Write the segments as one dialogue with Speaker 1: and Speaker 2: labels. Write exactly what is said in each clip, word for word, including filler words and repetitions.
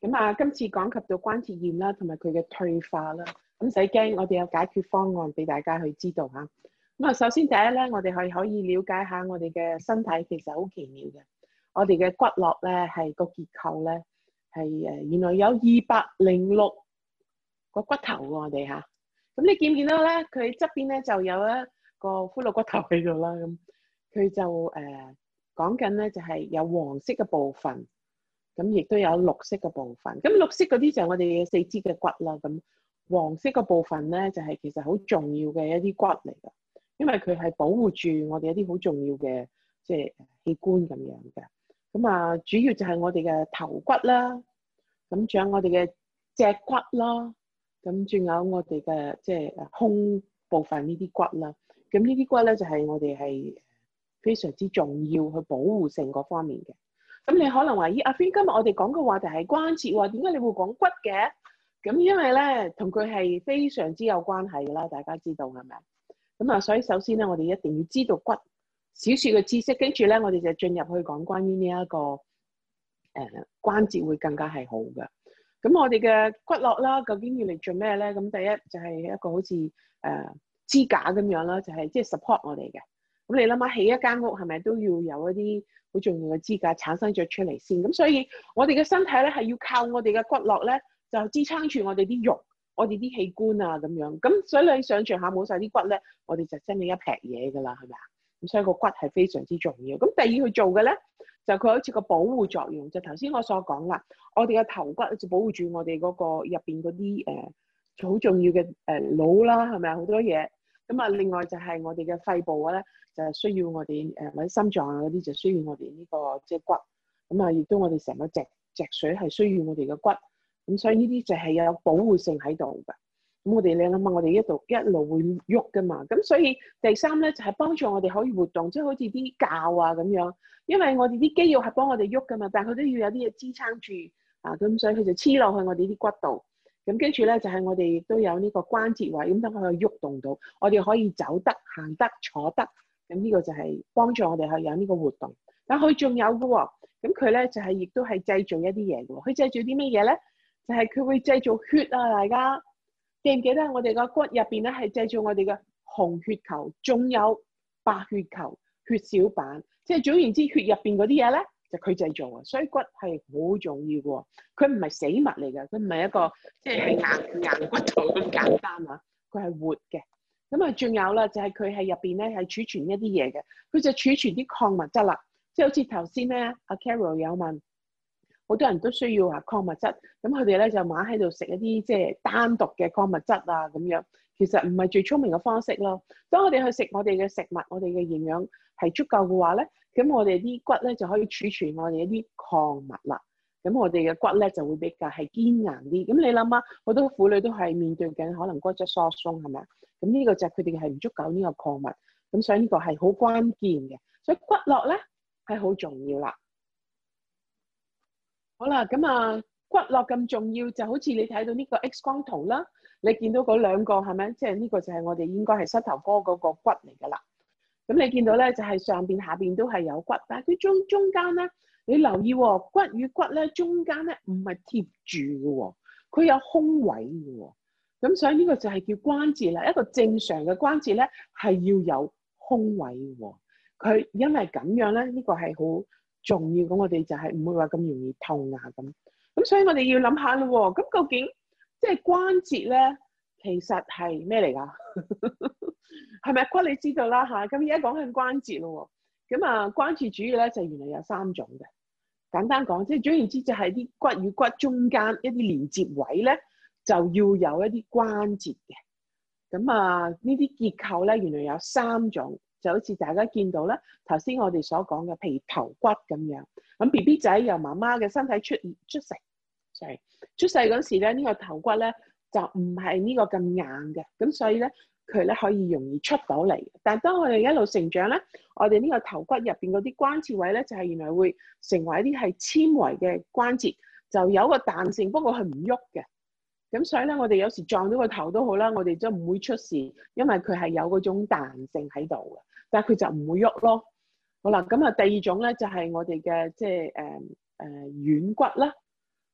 Speaker 1: 咁啊，今次講及到關節炎啦，同埋佢嘅退化啦，咁唔使驚，我哋有解決方案俾大家去知道嚇。咁啊，首先第一咧，我哋係可以了解下我哋嘅身體其實好奇妙嘅。我哋嘅骨骼咧係個結構咧係誒原來有二百零六個骨頭喎，我哋嚇。咁你見唔見到咧？佢側邊咧就有一個骷髏骨頭喺度啦。咁佢就誒講緊咧就係有黃色嘅部分。咁亦都有綠色嘅部分，咁綠色嗰啲就係我哋嘅四肢嘅骨啦。咁黃色嘅部分咧，就係、是、其實好重要嘅一啲骨嚟㗎，因為佢係保護住我哋一啲好重要嘅即係器官咁樣嘅。咁啊，主要就係我哋嘅頭骨啦，咁仲有我哋嘅脊骨啦，咁仲有我哋嘅即係誒胸部分呢啲骨啦。咁呢啲骨咧就係、是、我哋係非常之重要去保護性嗰方面嘅。咁你可能話：咦，阿 Fin 今日我哋講嘅話題係關節喎，點解你會講骨嘅？咁因為咧，同佢係非常之有關係㗎啦，大家知道係咪？咁啊，所以首先咧，我哋一定要知道骨少少嘅知識，跟住咧，我哋就進入去講關於呢、這、一個誒、呃、關節會更加係好嘅。咁我哋嘅骨骼啦，究竟要嚟做咩咧？咁第一就係一個好似誒、呃、支架咁樣啦，就係即係 support 我哋嘅。咁你諗下，起一間屋係咪都要有一啲好重要嘅支架產生咗出嚟先？咁所以我哋嘅身體咧係要靠我哋嘅骨骼咧，就支撐住我哋啲肉、我哋啲器官啊咁樣。咁所以你想象下冇晒啲骨咧，我哋就真係一劈嘢㗎啦，係咪啊？咁所以個骨係非常之重要。咁第二去做嘅咧，就佢好似個保護作用。就頭先我所講啦，我哋嘅頭骨就保護住我哋嗰個入邊嗰啲誒好重要嘅誒腦啦，係咪啊？好多嘢。咁啊，另外就係我哋嘅肺部咧。就係需要我哋誒或者心臟啊嗰啲就需要我哋呢、這個即係、就是、骨，咁啊亦都我哋成個脊脊髓係需要我哋嘅骨，咁所以呢啲就係有保護性喺度嘅。咁我哋你諗下，我哋一路一路會喐噶嘛，咁所以第三咧就係、是、幫助我哋可以活動，即、就、係、是、好似啲臼啊咁樣，因為我哋啲肌肉係幫我哋喐噶嘛，但係佢都要有啲嘢支撐住啊，咁所以佢就黐落去我哋啲骨度。咁跟住咧就係、是、我哋亦都有呢個關節位，咁等佢可以喐動到，我哋可以走得、行得、坐得。咁呢個就係幫助我哋去有呢個活動，但佢仲有嘅喎，咁佢咧就係、是、亦都係製造一啲嘢嘅喎。佢製造啲乜嘢咧？就係、是、佢會製造血啊！大家記唔記得我哋個骨入邊咧係製造我哋嘅紅血球，仲有白血球、血小板，即係總言之，血入邊嗰啲嘢咧就佢、是、製造啊。所以骨係好重要嘅喎，佢唔係死物嚟嘅，佢唔係一個即係、就是、硬硬骨頭咁簡單啊，佢係活嘅。咁啊，仲有啦，就係佢係入邊咧係儲存一啲嘢嘅，佢就儲存啲礦物質啦。即係好似頭先咧，阿 Carol 有問，好多人都需要啊礦物質，咁佢哋咧就買喺度食一啲即係單獨嘅礦物質啊咁樣，其實唔係最聰明嘅方式咯。當我哋去食我哋嘅食物，我哋嘅營養係足夠嘅話咧，咁我哋啲骨咧就可以儲存我哋一啲礦物啦。咁我哋嘅骨咧就會比較係堅硬啲。咁你諗下，好多婦女都係面對緊可能骨質疏鬆係咪啊？咁呢個就係佢哋係唔足夠呢個礦物，咁所以呢個係好關鍵嘅。所以骨骼咧係好重要啦。好啦，咁啊骨骼咁重要，就好似你睇到呢個 X 光圖啦，你見到嗰兩個係咪？即係呢個就係我哋應該係膝頭哥嗰個骨嚟㗎啦。咁你見到咧就係、是、上邊下邊都係有骨，但係佢中中間咧，你留意喎、哦，骨與骨咧中間咧唔係貼住嘅喎，佢有空位嘅喎。咁所以呢個就係叫關節啦。一個正常嘅關節咧係要有空位嘅喎。佢因為咁樣咧，呢個係好重要。咁我哋就係唔會話咁容易痛啊咁。咁所以我哋要諗下咯。咁究竟即係關節咧，其實係咩嚟㗎？係咪骨？你知道啦嚇。咁而家講緊關節咯。咁啊，關節主要咧就原來有三種嘅。簡單講，即係總言之就係啲骨與骨中間一啲連接位咧，就要有一啲關節嘅。咁啊，呢啲結構咧原來有三種，就好似大家見到咧，頭先我哋所講嘅，譬如頭骨咁樣。咁 B B 仔由媽媽嘅身體出出世，sorry，出世嗰時咧，呢個頭骨咧就唔係呢個咁硬嘅，咁所以咧佢咧可以容易出到嚟。但係當我哋一路成長咧，我哋呢個頭骨入邊嗰啲關節位咧，就係原來會成為一啲係纖維嘅關節，就有個彈性，不過係唔喐嘅。咁所以咧，我哋有時撞到個頭都好啦，我哋都唔會出事，因為佢係有嗰種彈性喺度嘅，但係佢就唔會喐咯。好啦，咁啊第二種咧就係我哋嘅即係誒誒軟骨啦。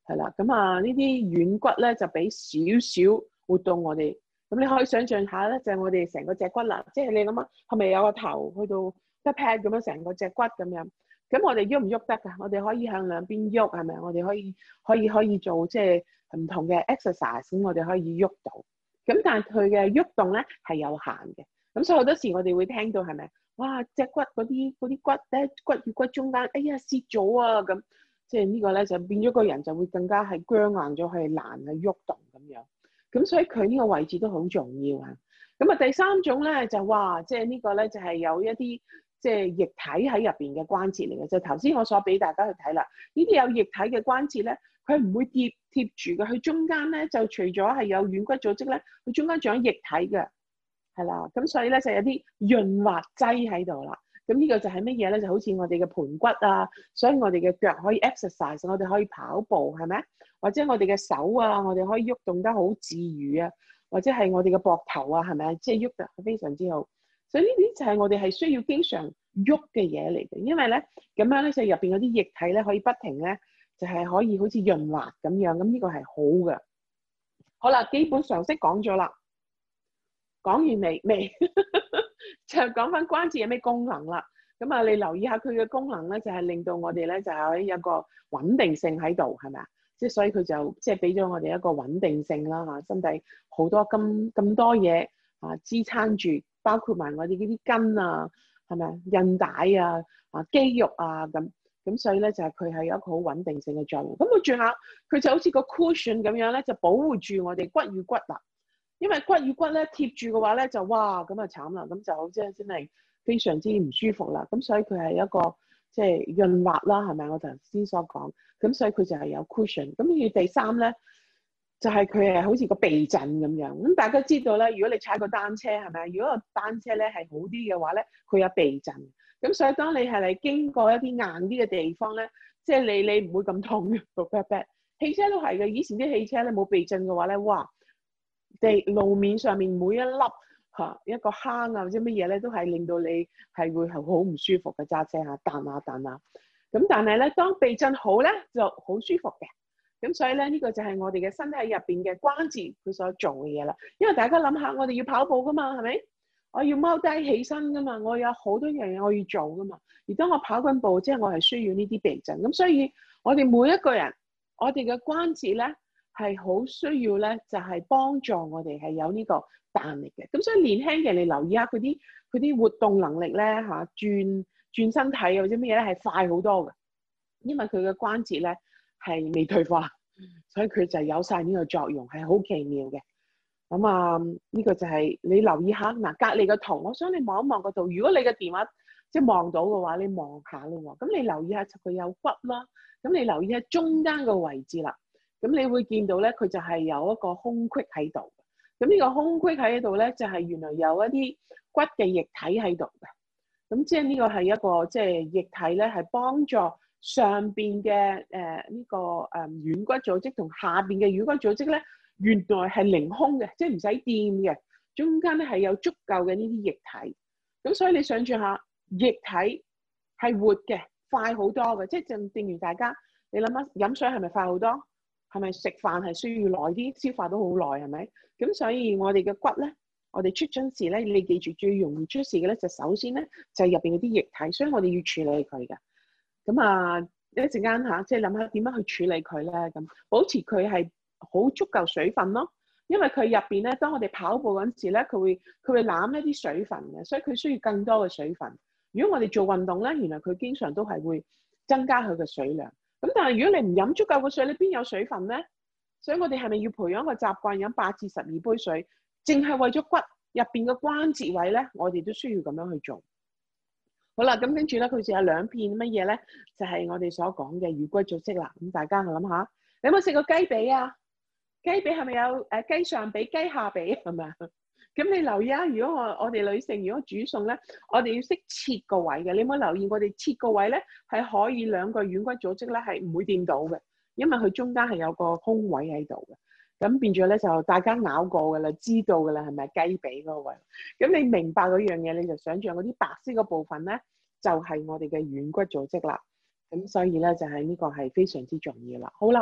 Speaker 1: 係啦。咁啊呢啲軟骨咧就俾少少活動我哋。咁你可以想象下咧，就係、我哋成個脊骨啦，即係你諗下，係咪有個頭去到一 pat 咁樣成個脊骨咁樣？咁我哋喐唔喐得㗎？我哋可以向兩邊喐，係咪？我哋可以可以可以做即係唔同嘅 exercise，咁我哋可以喐到。咁但係佢嘅喐動咧係有限嘅。咁所以好多時我哋會聽到係咪？哇！脊骨嗰啲嗰啲骨咧，骨與骨中間，哎呀蝕咗啊！咁即係呢個咧就變咗個人就會更加係僵硬咗，係難去喐動咁樣。咁所以佢呢個位置都好重要啊。咁啊第三種咧就哇，即係呢個咧就係有一啲即係液體喺入邊嘅關節嚟嘅。就頭先我所俾大家去睇啦，呢啲有液體嘅關節咧，佢唔會貼貼住嘅。佢中間咧就除咗係有軟骨組織咧，佢中間仲有液體嘅，係啦。咁所以咧就有啲潤滑劑喺度啦。咁呢個就係乜嘢咧？就好似我哋嘅盤骨啊，所以我哋嘅腳可以 exercise，我哋可以跑步，係咪？或者我哋嘅手啊，我哋可以喐動得好自如啊，或者係我哋嘅膊頭啊，係咪？即係喐得非常之好。所以呢啲就係我哋係需要經常喐嘅嘢嚟嘅，因為咧咁樣咧就入邊嗰啲液體咧可以不停咧就係、是、可以好似潤滑咁樣，咁呢個係好嘅。好啦，基本常識講咗啦，講完未？未就講翻關節有咩功能啦。咁啊，你留意下佢嘅功能咧，就係、是、令到我哋咧就係有個穩定性喺度，係咪啊？即係所以佢就即係俾咗我哋一個穩定性啦嚇，身體好多咁咁多嘢啊支撐住，包括埋我哋呢啲筋啊，係咪啊？韌帶啊啊肌肉啊咁咁，所以咧就係佢係有一個好穩定性嘅作用。咁佢最後佢就好似個 cushion 咁樣咧，就保護住我哋骨與骨啦。因為骨與骨咧貼住嘅話咧，就哇咁啊慘啦，咁就好即係真係非常之唔舒服啦。咁所以佢係一個即係潤滑啦，係咪？我頭先所講，咁所以佢就係有 cushion。咁而第三咧，就係佢係好似個避震咁樣。咁大家知道咧，如果你踩個單車係咪？如果個單車咧係好啲嘅話咧，佢有避震。咁所以當你係嚟經過一啲硬啲嘅地方咧，即係你你唔會咁痛嘅個 pat pat。汽車都係嘅，以前啲汽車咧冇避震嘅話咧，哇！地路面上面每一粒嚇一個坑啊或者乜嘢咧，都係令到你係會係好唔舒服嘅揸車嚇，彈下彈下。咁但係咧，當避震好咧，就好舒服嘅。咁所以咧，呢個就係我哋嘅身體入邊嘅關節佢所做嘅嘢啦。因為大家諗下，我哋要跑步噶嘛，係咪？我要踎低起身噶嘛，我有好多樣嘢我要做噶嘛。而當我跑緊步，即係我係需要呢啲避震。咁所以我哋每一個人，我哋嘅關節咧，係好需要咧，就係幫助我哋係有呢個彈力嘅。咁所以年輕嘅你留意下佢啲佢啲活動能力咧嚇，轉轉身體或者乜嘢咧係快好多嘅，因為佢嘅關節咧係未退化，所以佢就有晒呢個作用，係好奇妙嘅。咁啊，呢個就係你留意下嗱，隔離個圖，我想你望一望個圖。如果你嘅電話即係望到嘅話，你望下咯喎。咁你留意下佢有骨啦，咁你留意下中間個位置啦。咁你會見到咧，佢就係有一個空隙喺度。咁呢個空隙喺度咧，就係原來有一啲骨嘅液體喺度嘅。咁即係呢個係一個即係液體咧，係幫助上邊嘅誒呢個誒軟骨組織同下邊嘅軟骨組織咧，原來係凌空嘅，即係唔使掂嘅。中間咧係有足夠嘅呢啲液體。咁所以你想象下，液體係活嘅，快好多嘅。即係正正如大家，你諗下飲水係咪快好多？係咪食飯係需要耐啲，消化都好耐係咪？咁所以我哋嘅骨咧，我哋出咗事咧，你記住最容易出事嘅咧，就首先咧就係入邊嗰啲液體，所以我哋要處理佢嘅。咁啊，一陣間嚇，即係諗下點樣去處理佢咧？咁保持佢係好足夠水分咯，因為佢入邊咧，當我哋跑步嗰陣時咧，佢會佢會攬一啲水分嘅，所以佢需要更多嘅水分。如果我哋做運動咧，原來佢經常都係會增加佢嘅水量。咁但係如果你唔飲足夠嘅水，你邊有水分咧？所以我哋係咪要培養一個習慣飲八至十二杯水？淨係為咗骨入邊嘅關節位咧，我哋都需要咁樣去做。好啦，咁跟住咧，佢就有兩片乜嘢咧？就係、是、我哋所講嘅魚骨組織啦。咁大家去諗下，你有冇食過雞髀啊？雞髀係咪有誒雞上髀、雞下髀係咪啊？咁你留意下，如果我我哋女性如果煮餸咧，我哋要識切個位嘅。你有冇留意我哋切個位咧，係可以兩個軟骨組織咧係唔會掂到嘅，因為佢中間係有個空位喺度嘅。咁變咗咧就大家咬過嘅啦，知道嘅啦，係咪雞髀嗰個位？咁你明白嗰樣嘢，你就想象嗰啲白色嗰部分咧，就係我哋嘅軟骨組織啦。咁所以咧就係呢個係非常之重要啦。好啦，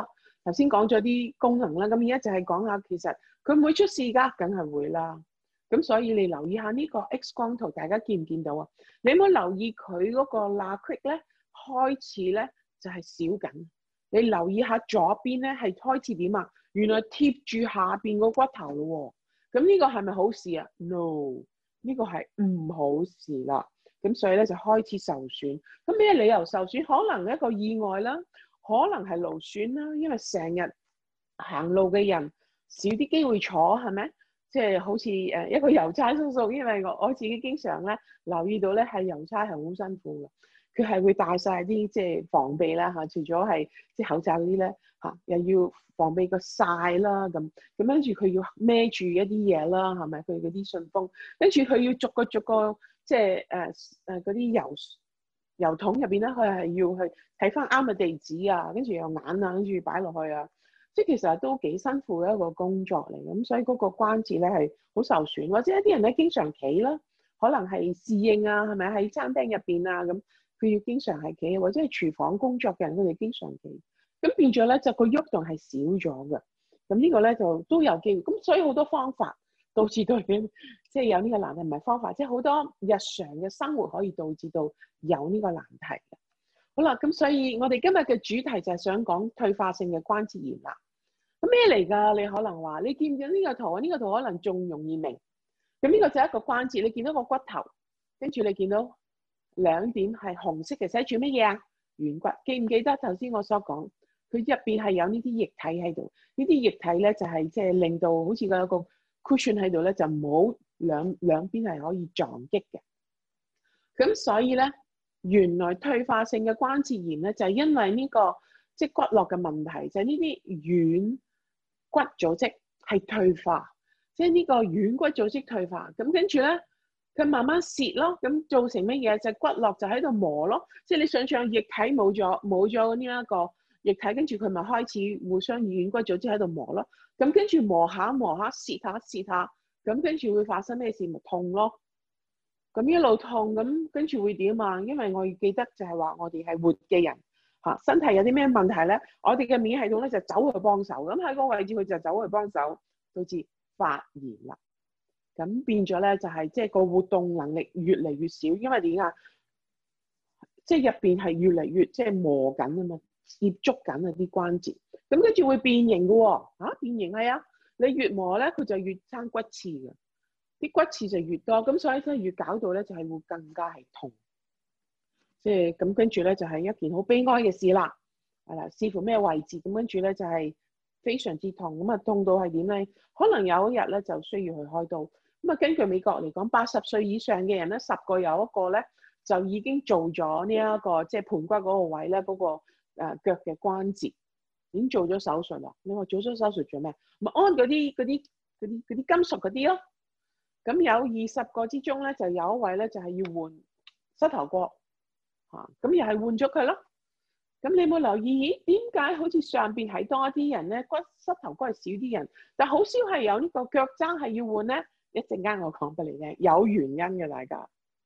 Speaker 1: 頭先講咗啲功能啦，咁而家就係講下其實佢唔會出事㗎，梗係會啦。咁所以你留意下呢個 X 光圖，大家見唔見到啊？你有冇留意佢嗰個罅隙咧開始咧就係少緊？你留意下左邊咧係開始點啊？原來貼住下邊個骨頭咯喎。咁呢個係咪好事啊 ？No，呢個係唔好事啦。咁所以咧就開始受損。咁咩理由受損？可能一個意外啦，可能係勞損啦，因為成日行路嘅人少啲機會坐，係咪？即係好似誒一個郵差叔叔，因為我我自己經常咧留意到咧係郵差係好辛苦嘅，佢係會戴晒啲即係防備啦嚇，除咗係即係口罩嗰啲咧嚇，又要防備個曬啦咁，咁跟住佢要孭住一啲嘢啦，係咪？佢嗰啲信封，跟住佢要逐個逐個即係誒誒嗰啲郵郵筒入邊咧，佢係要去睇翻啱嘅地址啊，跟住又眼啊，跟住擺落去啊。即係其實都幾辛苦嘅一個工作嚟，咁所以嗰個關節咧係好受損，或者一啲人咧經常企啦，可能係侍應啊，係咪喺餐廳入邊啊咁，佢要經常係企，或者係廚房工作嘅人，佢哋經常企，咁變咗咧就個喐動係少咗嘅，咁呢個咧就都有機會，咁所以好多方法導致到佢即係有呢個難題，唔係方法，即係好多日常嘅生活可以導致到有呢個難題嘅。好啦，咁所以我哋今日嘅主題就係想講退化性嘅關節炎啦。咁咩嚟㗎？你可能話你見唔見呢個圖啊？呢個圖可能仲容易明。咁呢個就係一個關節，你見到個骨頭，跟住你見到兩點係紅色嘅，寫住乜嘢啊？軟骨。記唔記得頭先我所講？佢入邊係有呢啲液體喺度，呢啲液體咧就係即係令到好似個有個 cushion 喺度咧，就冇兩兩邊係可以撞擊嘅。咁所以咧，原來退化性嘅關節炎咧，就係因為呢個即係骨骼嘅問題，就係呢啲軟骨組織係退化，即係呢個軟骨組織退化，咁跟住咧，佢慢慢蝕咯，咁造成乜嘢？就係骨骼就喺度磨咯，即係你想象液體冇咗冇咗呢一個液體，跟住佢咪開始互相軟骨組織喺度磨咯，咁跟住磨下磨下蝕下蝕下，咁跟住會發生咩事？咪痛咯，咁一路痛，咁跟住會點啊？因為我記得就係話我哋係活嘅人。嚇，身體有啲咩問題咧？我哋嘅免疫系統咧就走去幫手，咁喺嗰個位置佢就走去幫手，導致發炎啦。咁變咗咧就係即係個活動能力越嚟越少，因為點啊？即係入邊係越嚟越即係磨緊啊嘛，接觸緊啊啲關節，咁跟住會變形嘅喎。嚇，變形係啊，你越磨咧佢就越生骨刺嘅，啲骨刺就越多，咁所以真係越搞到咧就係會更加係痛。即係咁跟住咧就係一件好悲哀嘅事啦，係啦，視乎咩位置，咁跟住咧就係非常之痛，咁啊痛到係點咧？可能有一日咧就需要去開刀。咁啊根據美國嚟講，八十歲以上嘅人咧，十個有一個咧就已經做咗呢一個即係盤骨嗰個位咧嗰個誒腳嘅關節已經做咗手術啦。你話做咗手術做咩？咪安嗰啲嗰啲嗰啲嗰啲金屬嗰啲咯。咁有二十個之中咧，就有一位咧就係要換膝頭哥。嚇，咁又係換咗佢咯。咁你有冇留意？咦，點解好似上邊係多啲人咧？骨膝頭哥係少啲人，但好少係有呢個腳踭係要換咧。一陣間我講俾你聽，有原因嘅，大家。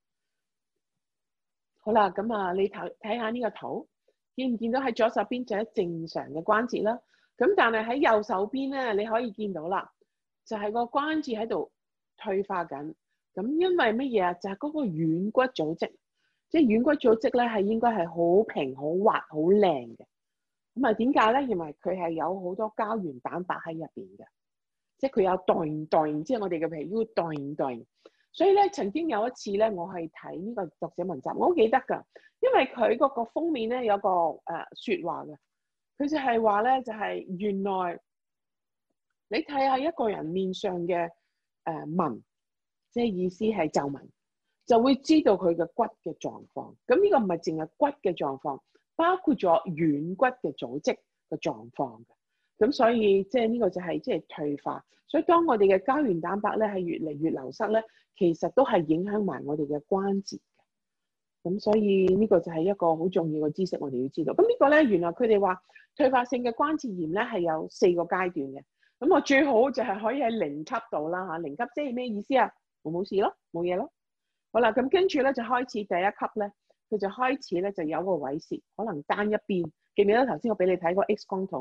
Speaker 1: 好啦，咁啊，你睇睇下呢個圖，見唔見到喺左手邊就係正常嘅關節啦？咁但係喺右手邊咧，你可以見到啦，就係個關節喺度退化緊。咁因為乜嘢啊？就係嗰個軟骨組織。即係軟骨組織咧，係應該係好平、好滑、好靚嘅。咁啊，點解咧？因為佢係有好多膠原蛋白喺入邊嘅，即係佢有代代，即係我哋嘅皮膚代代。所以咧，曾經有一次咧，我係睇呢個讀者文集，我好記得㗎，因為佢嗰個封面咧有個誒説話嘅，佢就係話咧，就係、是、原來你睇下一個人面上嘅誒紋，即係意思係皺紋。就會知道佢嘅骨嘅狀況，咁呢個唔係淨係骨嘅狀況，包括咗軟骨嘅組織嘅狀況嘅。咁所以即係呢個就係即係退化。所以當我哋嘅膠原蛋白咧係越嚟越流失咧，其實都係影響埋我哋嘅關節嘅。咁所以呢個就係一個好重要嘅知識，我哋要知道。咁呢個咧原來佢哋話退化性嘅關節炎咧係有四個階段嘅。咁我最好就係可以喺零級度啦嚇，零級即係咩意思啊？我冇事咯，冇嘢咯。好啦，咁跟住咧就開始第一級咧，佢就開始咧就有個萎蝕，可能單一邊。記唔記得頭先我俾你睇過 X 光圖嘅？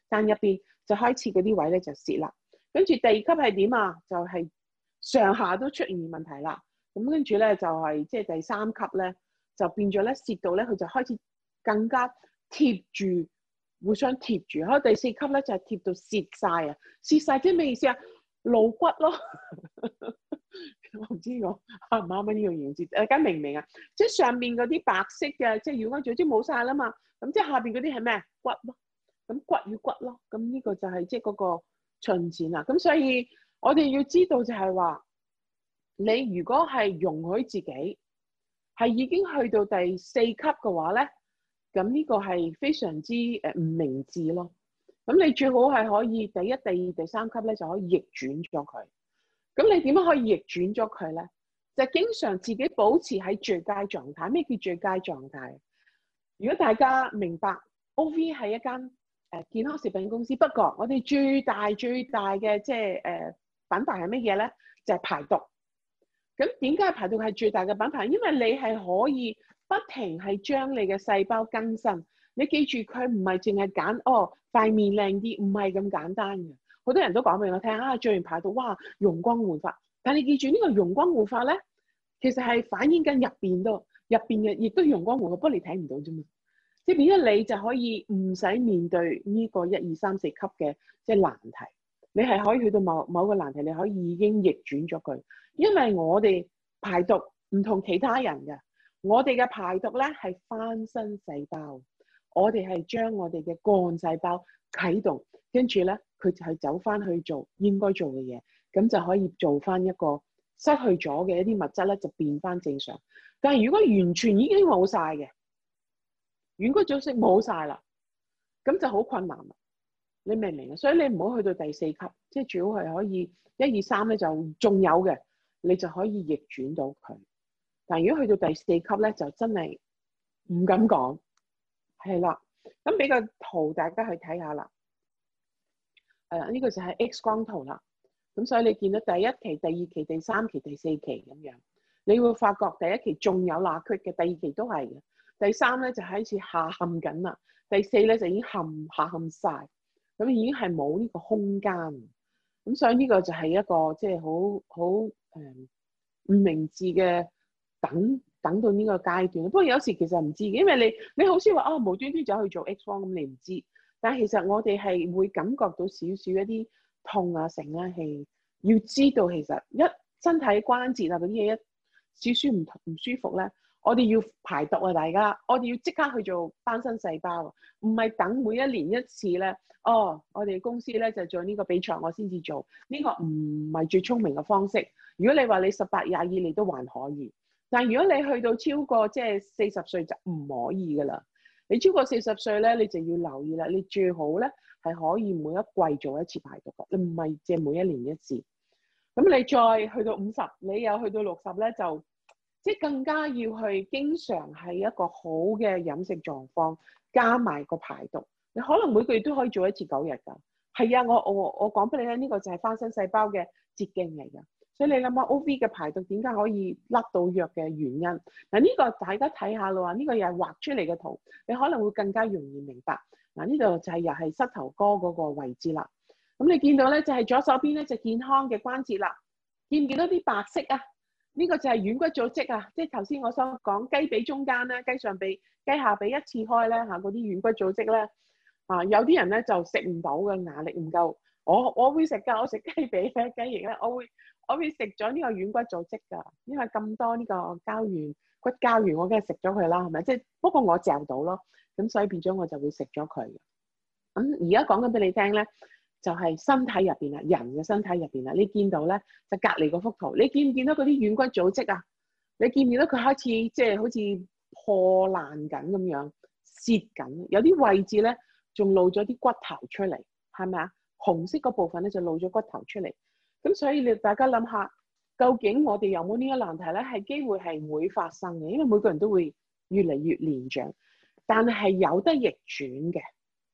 Speaker 1: 但入邊就開始嗰啲位咧就蝕啦。跟住第二級係點啊？就係、是、上下都出現問題啦。咁跟住咧就係即係第三級咧就變咗咧蝕到咧佢就開始更加貼住，互相貼住。喺第四級咧就係、是、貼到蝕晒啊！蝕晒即係咩意思啊？露骨咯。我唔知我啱唔啱呢個形容詞，大家明唔明啊？即係上面嗰啲白色嘅，即係乳氨組織冇晒啦嘛，咁即係下邊嗰啲係咩？骨咯，咁骨與骨咯，咁呢個就係即係嗰個進展啦。咁所以我哋要知道就係話，你如果係容許自己係已經去到第四級嘅話咧，咁呢個係非常之誒唔明智咯。咁你最好係可以第一、第二、第三級咧就可以逆轉咗佢。咁你點樣可以逆轉咗佢咧？就經常自己保持喺最佳狀態。咩叫最佳狀態？如果大家明白 O V 係一間誒健康食品公司，不過我哋最大最大嘅即係誒品牌係乜嘢咧？就係排毒。咁點解排毒係最大嘅品牌？因為你係可以不停係將你嘅細胞更新。你記住佢唔係淨係揀哦塊面靚啲，唔係咁簡單嘅。好多人都講俾我聽啊，做完排毒哇容光煥發，但你記住呢個容光煥發咧，其實係反映緊入邊都入邊嘅，亦都容光煥發，不過你睇唔到啫嘛。即係變咗你就可以唔使面對呢個一二三四級嘅即係難題，你係可以去到某某個難題，你可以已經逆轉咗佢。因為我哋排毒唔同其他人嘅，我哋嘅排毒咧係翻新細胞，我哋係將我哋嘅幹細胞啟動，跟住咧佢就係走翻去做應該做嘅嘢，咁就可以做翻一個失去咗嘅一啲物質咧就變翻正常。但係如果完全已經冇晒嘅，軟骨組織冇晒啦，咁就好困難啦。你明唔明啊？所以你唔好去到第四級，即係最好係可以一二三咧就仲有嘅，你就可以逆轉到佢。但係如果去到第四級咧，就真係唔敢講。係啦，咁俾個圖大家去睇下啦。誒、呃，呢、這個就係 X 光圖啦。咁所以你見到第一期、第二期、第三期、第四期咁樣，你會發覺第一期仲有罅隙嘅，第二期都係嘅。第三咧就開始下陷緊啦，第四咧就已經陷下陷晒，咁已經係冇呢個空間。咁所以呢個就係一個即係好好誒唔明智嘅等等到呢個階段。不過有時其實唔知嘅，因為你你好少話啊無端端走去做 X 光咁，你唔知。但係其實我哋係會感覺到少少一啲痛啊成啊係要知道其實一身體關節啊嗰啲嘢一少少唔唔舒服咧。我哋要排毒啊！大家，我哋要即刻去做翻新細胞，唔係等每一年一次咧。哦，我哋公司咧就做呢個比賽，我先至做呢、這個唔係最聰明嘅方式。如果你話你十八廿二你都還可以，但係如果你去到超過即係四十歲就唔可以噶啦。你超過四十歲咧，你就要留意啦。你最好咧係可以每一季做一次排毒嘅，你唔係即係每一年一次。咁你再去到五十，你又去到六十咧就。即係更加要去經常係一個好嘅飲食狀況，加埋個排毒。你可能每個月都可以做一次九日㗎。係啊，我我我講俾你聽，呢個就係翻新細胞嘅捷徑嚟㗎。所以你諗下 O V 嘅排毒點解可以甩到藥嘅原因？嗱，呢個大家睇下咯，呢個又係畫出嚟嘅圖，你可能會更加容易明白。嗱，呢度就係又係膝頭哥嗰個位置啦。咁你見到咧就係左手邊咧就健康嘅關節啦。見唔見到啲白色啊？呢個就係軟骨組織啊，即係頭先我所講雞髀中間咧、雞上髀、雞下髀一次開咧嚇，嗰啲軟骨組織咧啊，有啲人咧就食唔到嘅，牙力唔夠。我我會食㗎，我食雞髀咧、雞翼咧，我會我會食咗呢個軟骨組織㗎，因為咁多呢個膠原骨膠原，我梗係食咗佢啦，係咪？即係不過我嚼到咯，咁所以變咗我就會食咗佢。咁而家講緊俾你聽咧。就係身體入邊啦，人嘅身體入邊啦，你見到咧就隔離嗰幅圖，你見唔見到嗰啲軟骨組織啊？你見唔見到佢開始即係、就是、好似破爛緊咁樣蝕緊？有啲位置咧仲露咗啲骨頭出嚟，係咪啊？紅色嗰部分咧就露咗骨頭出嚟。咁所以你大家諗下，究竟我哋有冇呢個難題咧？係機會係會發生嘅，因為每個人都會越嚟越年長，但係有得逆轉嘅，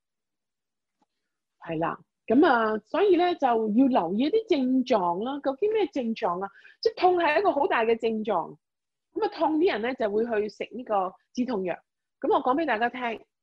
Speaker 1: 係啦。咁啊，所以咧就要留意一啲症狀啦。究竟咩症狀啊？即係痛係一個好大嘅症狀。咁啊，痛啲人咧就會去食呢個止痛藥。咁我講俾大家聽，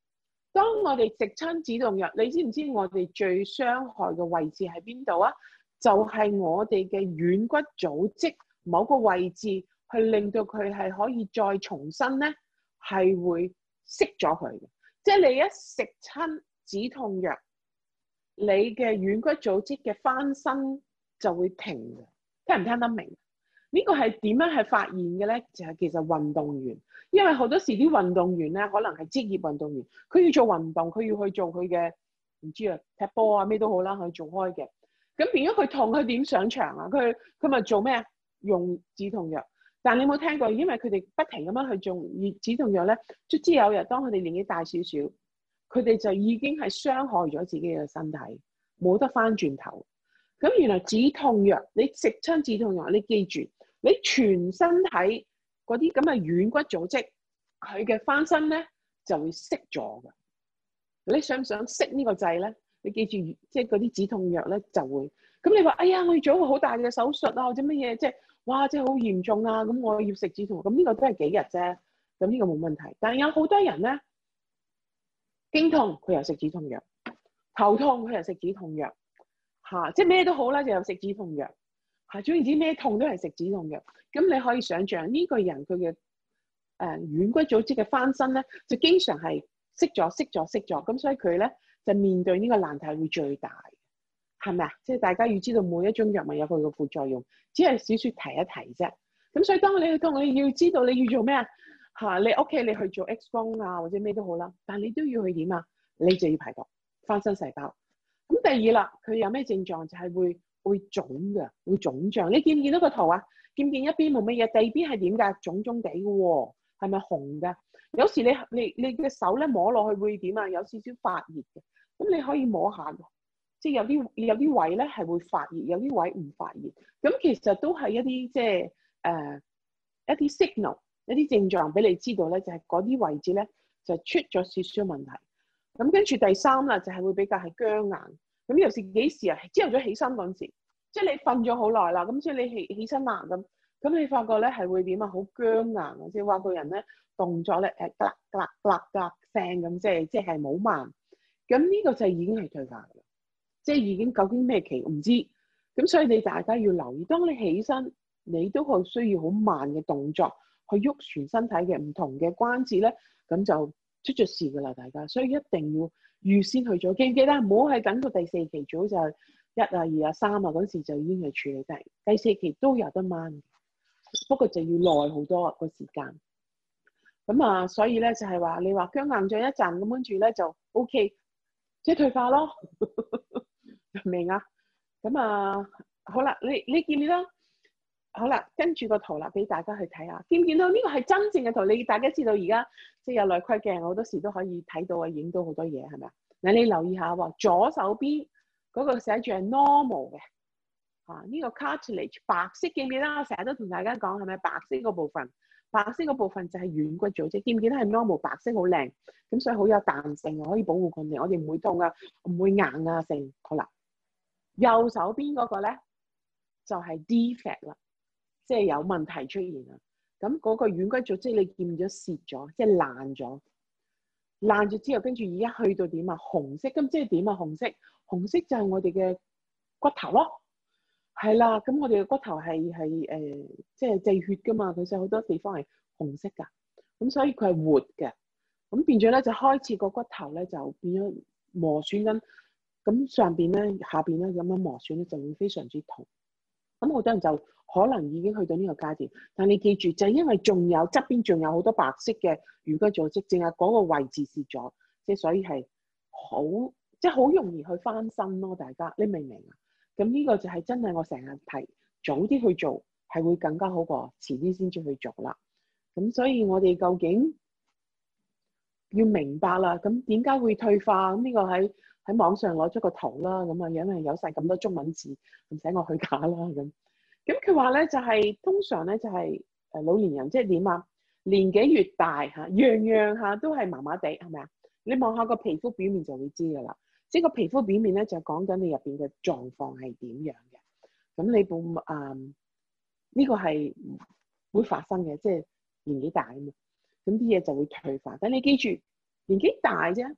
Speaker 1: 當我哋食親止痛藥，你知唔知我哋最傷害嘅位置喺邊度啊？就係、是、我哋嘅軟骨組織某個位置，去令到佢係可以再重新咧，係會熄咗佢嘅。即係你一食親止痛藥，你嘅軟骨組織嘅翻身就會停嘅。聽唔聽得明？呢個係點樣係發現嘅咧？就係、是、其實運動員，因為好多時啲運動員咧，可能係職業運動員，佢要做運動，佢要去做佢嘅唔知啊踢波啊咩都好啦，去做開嘅。咁變咗佢痛，佢點上場啊？佢佢咪做咩啊？用止痛藥。但你有冇聽過？因為佢哋不停咁樣去做止痛藥咧，卒之有日當佢哋年紀大少少，佢哋就已經係傷害咗自己嘅身體，冇得翻轉頭。咁原來止痛藥，你食親止痛藥，你記住，你全身體嗰啲咁嘅軟骨組織，佢嘅翻身咧就會熄咗㗎。你想唔想熄呢個掣咧？你記住，即係嗰啲止痛藥咧就會。咁你話，哎呀，我要做一個好大嘅手術啊，或者乜嘢，即係哇，即係好嚴重啊！咁我要食止痛藥，咁呢個都係幾日啫。咁呢個冇問題。但係有好多人咧，經痛佢又食止痛藥，頭痛佢又食止痛藥。嚇，即係咩都好啦，就有食止痛藥。嚇，總言之咩痛都係食止痛藥。咁你可以想象呢個人佢嘅誒軟骨組織嘅翻身咧，就經常係熄咗、熄咗、熄咗。咁所以佢咧就面對呢個難題會最大，係咪啊？即係大家要知道每一種藥物有佢嘅副作用，只係少少提一提啫。咁所以當你去痛，你要知道你要做咩啊？嚇，你屋企你去做 X 光啊，或者咩都好啦，但你都要去點啊？你就要排毒翻身細胞。咁第二啦，佢有咩症狀？就係會會腫嘅，會腫脹。你見唔見到個圖啊？見唔見一邊冇乜嘢，第二邊係點㗎？腫腫地嘅喎，係咪紅㗎？有時你你你嘅手咧摸落去會點啊？有少少發熱嘅，咁你可以摸下嘅，即係有啲有啲位咧係會發熱，有啲位唔發熱。咁其實都係一啲即係誒一啲 signal，一啲症狀俾你知道咧，就係嗰啲位置咧就出咗少少問題。咁跟住第三啦，就係會比較係僵硬。咁有時幾時啊？朝頭早起身嗰陣時，即係你瞓咗好耐啦，咁所以你起起身啦，咁咁你發覺咧係會點啊？好僵硬啊！即係話個人咧動作咧誒，㗎㗎㗎㗎聲咁，即係即係冇慢。咁呢個就已經係退化㗎啦，即係已經究竟咩期唔知。咁所以你大家要留意，當你起身，你都係需要好慢嘅動作去喐全身體嘅唔同嘅關節咧，咁就出咗事㗎啦，大家，所以一定要預先去做，記唔記得？唔好係等到第四期最好就係一啊、二啊、三啊嗰時就已經係處理得。第四期都有得掹，不過就要耐好多個時間。咁啊，所以咧就係話你話僵硬咗一陣，咁跟住咧就 O K， 即係退化咯，明啊？咁啊，好啦，你你見唔見到？好啦，跟住個圖啦，俾大家去睇下，見唔見到呢個係真正嘅圖？你大家知道而家即係有內窺鏡，好多時都可以睇到啊，影到好多嘢，係咪啊？嗱，你留意下喎，左手邊嗰個寫住係 normal 嘅，啊呢個 cartilage 白色，記唔記得？我成日都同大家講係咪白色嗰部分？白色嗰部分就係軟骨組織，見唔見得係 normal 白色好靚，咁所以好有彈性，可以保護佢哋，我哋唔會痛啊，唔會硬啊，成好啦。右手邊嗰個咧就係 defect 啦。即係有問題出現啦，咁嗰個軟骨組織你見咗蝕咗，即係爛咗，爛咗之後，跟住而家去到點啊？紅色，咁即係點啊？紅色，紅色就係我哋嘅骨頭咯，係啦，咁我哋嘅骨頭係係誒，即係製血噶嘛，其實好多地方係紅色噶，咁所以佢係活嘅，咁變咗咧就開始個骨頭咧就變咗磨損緊，咁上邊咧下邊咧咁樣磨損咧就會非常之痛，咁好多人就可能已經去到呢個階段，但你記住，就係因為仲有側邊仲有好多白色嘅軟骨組織，淨係嗰個位置蝕咗，即係所以係好即係好容易去翻身咯。大家你明唔明啊？咁呢個就係真係我成日提，早啲去做係會更加好過遲啲先至去做啦。咁所以我哋究竟要明白啦，咁點解會退化？咁呢個喺喺網上攞咗個圖啦，咁啊因為有晒咁多中文字，唔使我去假啦咁。咁佢話咧就係、是、通常咧就係誒老年人即係點啊？年紀越大嚇，樣樣嚇都係麻麻地，係咪啊？你望下個皮膚表面就會知㗎啦。即係個皮膚表面咧就講緊你入邊嘅狀況係點樣嘅。咁你部誒呢個係會發生嘅，即係年紀大啊嘛。咁啲嘢就會退化。但你記住，年紀大啫，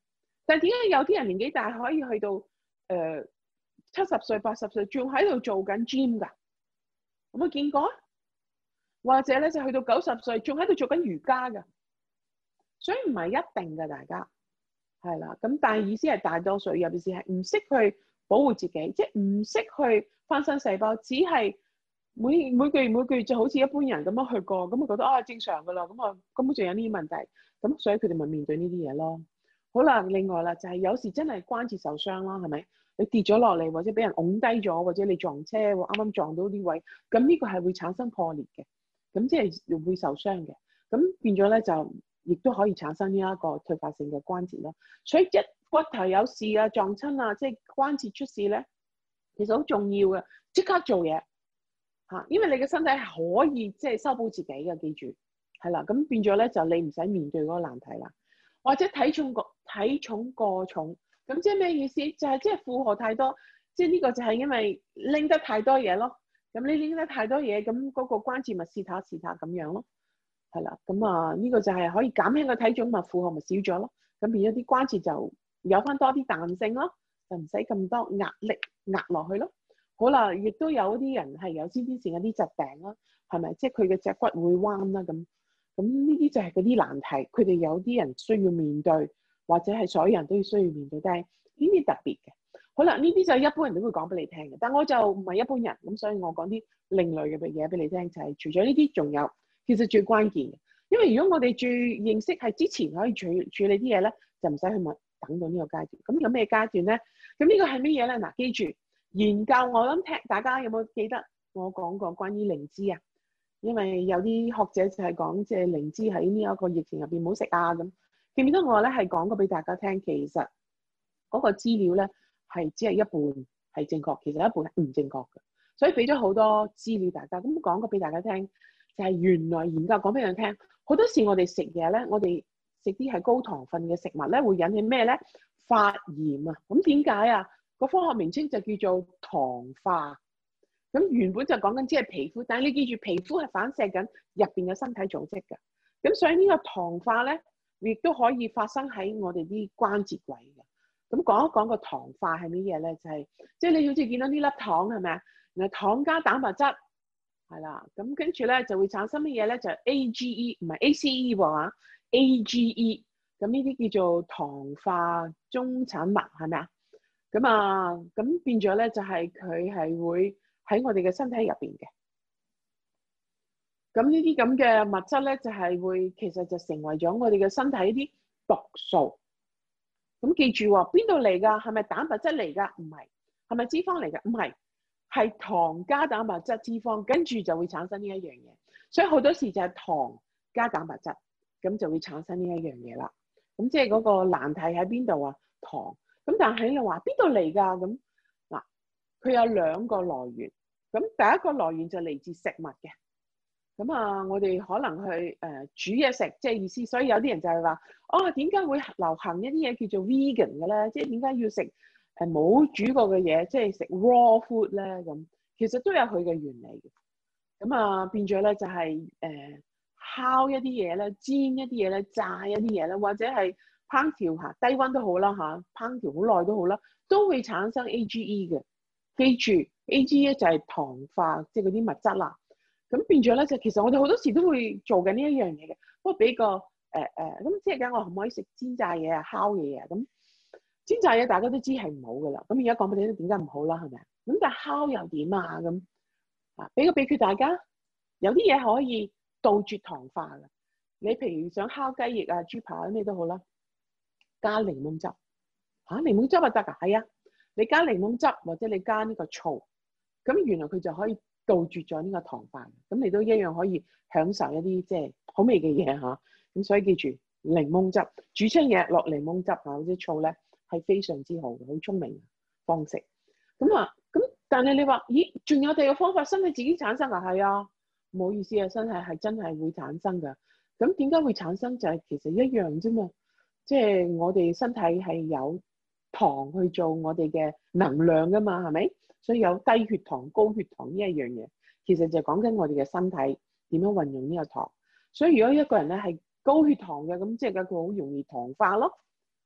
Speaker 1: 但係點解有啲人年紀大可以去到誒七十歲、八十歲，仲喺度做緊 gym 㗎？有冇見過啊？或者咧就去到九十歲，仲喺度做緊瑜伽㗎？所以唔係一定㗎，大家係啦。咁但係意思係大多數，尤其是係唔識去保護自己，即係唔識去翻新細胞，只係每每個月每個月就好似一般人咁樣去過，咁啊覺得啊正常㗎啦，咁啊根本就有呢啲問題，咁所以佢哋咪面對呢啲嘢咯。好啦，另外啦就係有時真係關節受傷啦，係咪？你跌咗落嚟，或者俾人拱低咗，或者你撞車喎，啱啱撞到啲位，咁呢個係會產生破裂嘅，咁即係會受傷嘅，咁變咗咧就亦都可以產生呢一個退化性嘅關節咯。所以一骨頭有事啊、撞親啊，即係關節出事咧，其實好重要嘅，即刻做嘢嚇，因為你嘅身體係可以即係修補自己嘅，記住係啦。咁變咗咧就你唔使面對嗰個難題啦。或者體重過體重過重，咁即係咩意思？就係即係負荷太多，即係呢個就係因為拎得太多嘢咯。咁你拎得太多嘢，咁嗰個關節咪試下試下咁樣咯，係啦。咁啊呢個就係可以減輕個體重，咪負荷咪少咗咯。咁變咗啲關節就有翻多啲彈性咯，就唔使咁多壓力壓落去咯。好啦，亦都有啲人係有先天性有啲疾病啦，係咪？即係佢嘅脊骨會彎啦咁。咁呢啲就係嗰啲難題，佢哋有啲人需要面對，或者係所有人都要需要面對，但係呢啲特別嘅。好啦，呢啲就係一般人都會講俾你聽嘅，但我就唔係一般人，咁所以我講啲另類嘅嘢俾你聽，就係、是、除咗呢啲，仲有其實最關鍵嘅，因為如果我哋最認識係之前可以處處理啲嘢咧，就唔使去問等到呢個階段。咁有咩階段咧？咁呢個係乜嘢咧？嗱，記住研究，我諗聽大家有冇記得我講過關於靈芝啊？因為有啲學者就係講，即係靈芝喺呢一個疫情入邊唔好食啊咁。記唔記得我咧係講過俾大家聽，其實嗰個資料咧係只係一半係正確，其實一半係唔正確嘅。所以俾咗好多資料大家，咁講過俾大家聽，就係原來研究講俾人聽，好多時我哋食嘢咧，我哋食啲係高糖分嘅食物咧，會引起咩咧？發炎啊！咁點解啊？個科學名稱就叫做糖化。咁原本就講緊只係皮膚，但係你記住皮膚係反射緊入邊嘅身體組織嘅。咁所以呢個糖化咧，亦都可以發生喺我哋啲關節位嘅。咁講一講個糖化係乜嘢咧？就係即係你好似見到呢粒糖係咪啊？然後糖加蛋白質係啦，咁跟住咧就會產生乜嘢咧？就係 A G E 唔係 A C E 喎嚇 ，A G E。咁呢啲叫做糖化中產物係咪啊？咁啊，咁變咗咧就係佢係會喺我哋嘅身體入邊嘅，咁呢啲咁嘅物質咧，就係會其實就成為咗我哋嘅身體一啲毒素。咁記住喎，邊度嚟㗎？係咪蛋白質嚟㗎？唔係。係咪脂肪嚟㗎？唔係，係糖加蛋白質脂肪，跟住就會產生呢一樣嘢。所以好多時就係糖加蛋白質，咁就會產生呢一樣嘢啦。咁即係嗰個難題喺邊度啊？糖。咁但係你話邊度嚟㗎？咁嗱，佢有兩個來源。咁第一個來源就嚟自食物嘅，咁啊，我哋可能去誒、呃、煮嘢食，即係意思。所以有啲人就係話，哦，點解會流行一啲嘢叫做 vegan 嘅咧？即係點解要食誒冇煮過嘅嘢，即係食 raw food 咧？咁其實都有佢嘅原理嘅。咁啊，變咗咧就係、是、誒、呃、烤一啲嘢咧，煎一啲嘢咧，炸一啲嘢咧，或者係烹調下低溫都好啦嚇，烹調好耐都好啦，都會產生 A G E 嘅。記住 A G E 就係糖化，即係嗰啲物質啦。咁變咗咧，就其實我哋好多時都會做緊呢一樣嘢嘅。不過俾個誒誒，咁、呃呃、即係講我可唔可以食煎炸嘢啊、烤嘢啊？咁煎炸嘢大家都知係唔好噶啦。咁而家講俾你聽點解唔好啦，係咪啊？咁但係烤又點啊？咁啊，俾個秘訣大家，有啲嘢可以杜絕糖化嘅。你譬如想烤雞翼啊、豬扒咩都好啦，加檸檬汁嚇、啊，檸檬汁啊得㗎，係啊。你加檸檬汁或者你加呢個醋，咁原來佢就可以杜絕咗呢個糖化，咁你都一樣可以享受一啲即係好味嘅嘢嚇。咁所以記住檸檬汁煮出嘢落檸檬汁啊或者醋咧係非常之好嘅，好聰明嘅方式。咁啊咁，但係你話咦，仲有第二個方法，身體自己產生啊？係啊，唔好意思啊，身體係真係會產生㗎。咁點解會產生？就係其實一樣啫嘛，即係我哋身體係有糖去做我哋嘅能量噶嘛，係咪？所以有低血糖、高血糖呢一樣嘢，其實就講緊我哋嘅身體點樣運用呢個糖。所以如果一個人咧係高血糖嘅，咁即係佢好容易糖化咯。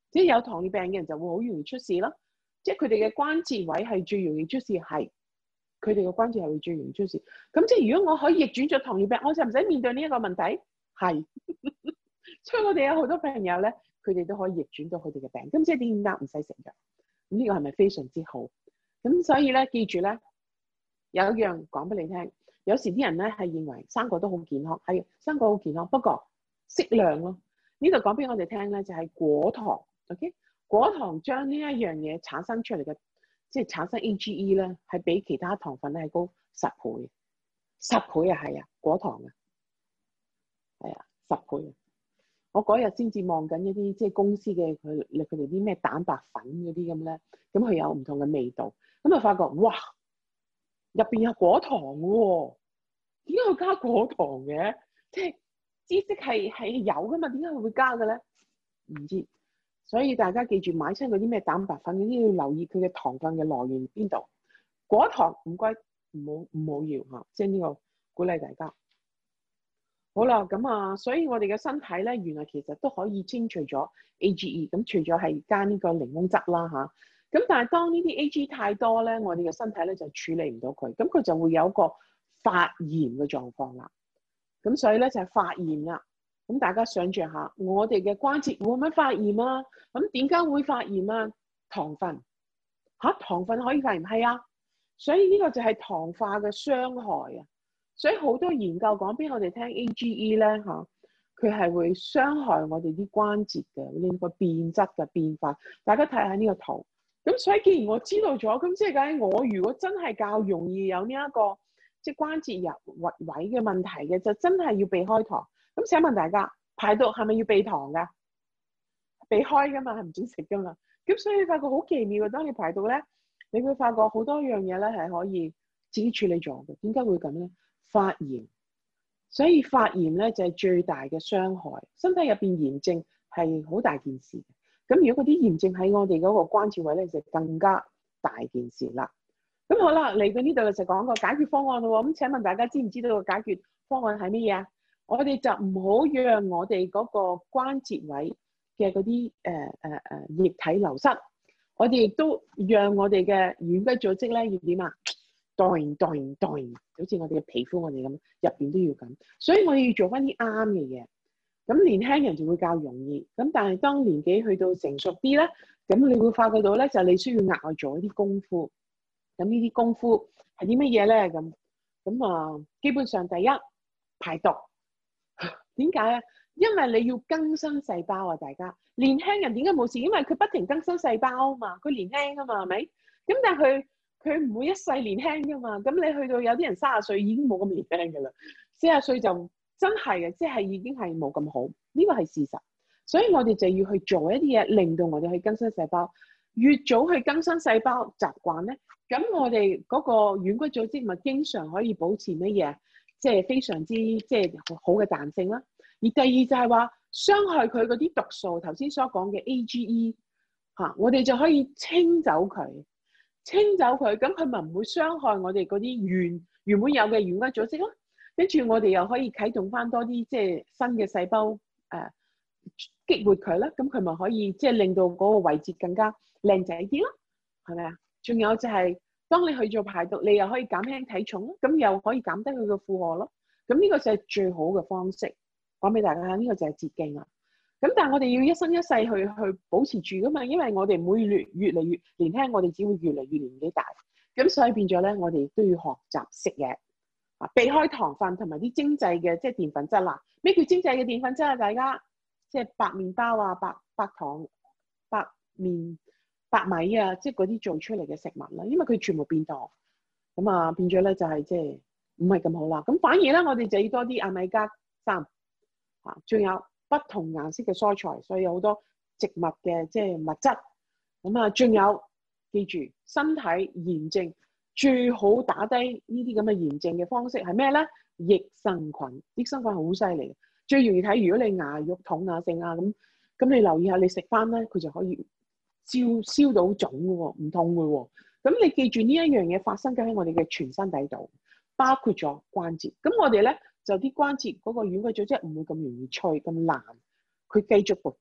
Speaker 1: 即係有糖尿病嘅人就會好容易出事咯。即係佢哋嘅關節位係最容易出事，係佢哋嘅關節係會最容易出事。咁即係如果我可以逆轉咗糖尿病，我就唔使面對呢一個問題。係，所以我哋有好多朋友咧，佢哋都可以逆轉到佢哋嘅病。咁即係點解唔使食藥？咁呢個係咪非常之好？咁所以咧，記住咧，有一樣講俾你聽。有時啲人咧係認為生果都好健康，係生果好健康，不過適量咯。呢度講俾我哋聽咧，就係果糖。OK，果糖將呢一樣嘢產生出嚟嘅，即係產生 A G E 咧，係比其他糖分咧係高十倍，十倍啊，係啊，果糖啊，係啊，十倍啊。我嗰日先至望緊一啲即係公司嘅佢佢哋啲咩蛋白粉嗰啲咁咧，咁佢有唔同嘅味道，咁啊發覺哇！入邊有果糖喎，點解會加果糖嘅？即係知識係係有噶嘛？點解佢會加嘅咧？唔知，所以大家記住買親嗰啲咩蛋白粉嗰啲要留意佢嘅糖分嘅來源邊度。果糖唔該，唔好唔好要嚇，即係呢個鼓勵大家。好啦，咁啊，所以我哋嘅身體咧，原來其實都可以清除咗 A G E。咁除咗係加呢個檸檬汁啦嚇。咁但係當呢啲 A G 太多咧，我哋嘅身體咧就處理唔到佢，咁佢就會有一個發炎嘅狀況啦。咁所以咧就係發炎啦。咁大家想象下，我哋嘅關節會唔會發炎啊？咁點解會發炎啊？糖分嚇，糖分可以發炎，係啊。所以呢個就係糖化嘅傷害啊。所以好多研究講俾我哋聽 A G E 咧嚇，佢係會傷害我哋啲關節嘅，呢個變質嘅變化。大家睇下呢個圖。咁所以既然我知道咗，咁即係講我如果真係較容易有呢、這、一個即係、就是、關節入位嘅問題嘅，就真係要避開糖。咁請問大家排毒係咪要避糖㗎？避開㗎嘛，係唔准食㗎嘛。咁所以你發覺好奇妙嘅，當你排毒咧，你會發覺好多樣嘢咧係可以自己處理咗嘅。點解會咁咧？發炎，所以發炎咧就係、是、最大嘅傷害。身體入邊炎症係好大件事。咁如果嗰啲炎症喺我哋嗰個關節位咧，就更加大件事啦。咁好啦，嚟到呢度就講個解決方案咯。咁請問大家知唔知道個解決方案係乜嘢啊？我哋就唔好讓我哋嗰個關節位嘅嗰啲誒誒誒液體流失。我哋亦都讓我哋嘅軟骨組織咧要點啊？代代代，好似我哋嘅皮膚我哋咁，入邊都要咁。所以我哋要做翻啲啱嘅嘢。咁年輕人就會較容易，咁但係當年紀去到成熟啲咧，咁你會發覺到咧，就你需要額外做一啲功夫。咁呢啲功夫係啲乜嘢咧？咁咁啊，基本上第一排毒。點解啊？因為你要更新細胞啊！大家年輕人點解冇事？因為佢不停更新細胞啊嘛，佢年輕啊嘛，係咪？咁但係佢佢唔會一世年輕噶嘛。咁你去到有啲人三十歲已經冇咁年輕噶啦，四十歲就。真係嘅，即係已經係冇咁好，呢個係事實。所以我哋就要去做一啲嘢，令到我哋去更新細胞。越早去更新細胞習慣咧，咁我哋嗰個軟骨組織咪經常可以保持乜嘢？即係非常之即係好嘅彈性啦。而第二就係話傷害佢嗰啲毒素，頭先所講嘅 A G E 嚇，我哋就可以清走佢，清走佢，咁佢咪唔會傷害我哋嗰啲原原本有嘅軟骨組織咯。跟住我哋又可以啟動翻多啲即係新嘅細胞，誒、呃、激活佢啦，咁佢咪可以即係令到嗰個位置更加靚仔啲咯，係咪啊？仲有就係、是、當你去做排毒，你又可以減輕體重咯，咁又可以減低佢嘅負荷咯。咁呢個就係最好嘅方式，講俾大家聽，呢、這個就係捷徑啦。咁但係我哋要一生一世去去保持住噶嘛，因為我哋每越越嚟越年輕，我哋只會越嚟越年紀大，咁所以變咗咧，我哋都要學習食嘢。啊！避開糖分同埋啲精製嘅即係澱粉質啦。咩叫精製嘅澱粉質啊？大家即係白麵包啊、白白糖、白麵、白米啊，即係嗰啲做出嚟嘅食物啦。因為佢全部變糖，咁啊變咗咧就係即係唔係咁好啦。咁反而咧，我哋就要多啲亞米加三啊，仲有不同顏色嘅蔬菜，所以有好多植物嘅即係物質。咁啊，仲有記住身體炎症。最好打低呢啲咁嘅炎症嘅方式係咩咧？益生菌，益生菌好犀利，最容易睇。如果你牙肉痛啊、性啊咁，咁你留意下，你食翻咧，佢就可以燒燒到腫嘅喎，唔痛嘅喎。咁你記住呢一樣嘢發生緊喺我哋嘅全身底度，包括咗關節。咁我哋咧就啲關節嗰個軟骨組織唔會咁容易脆咁爛，佢繼續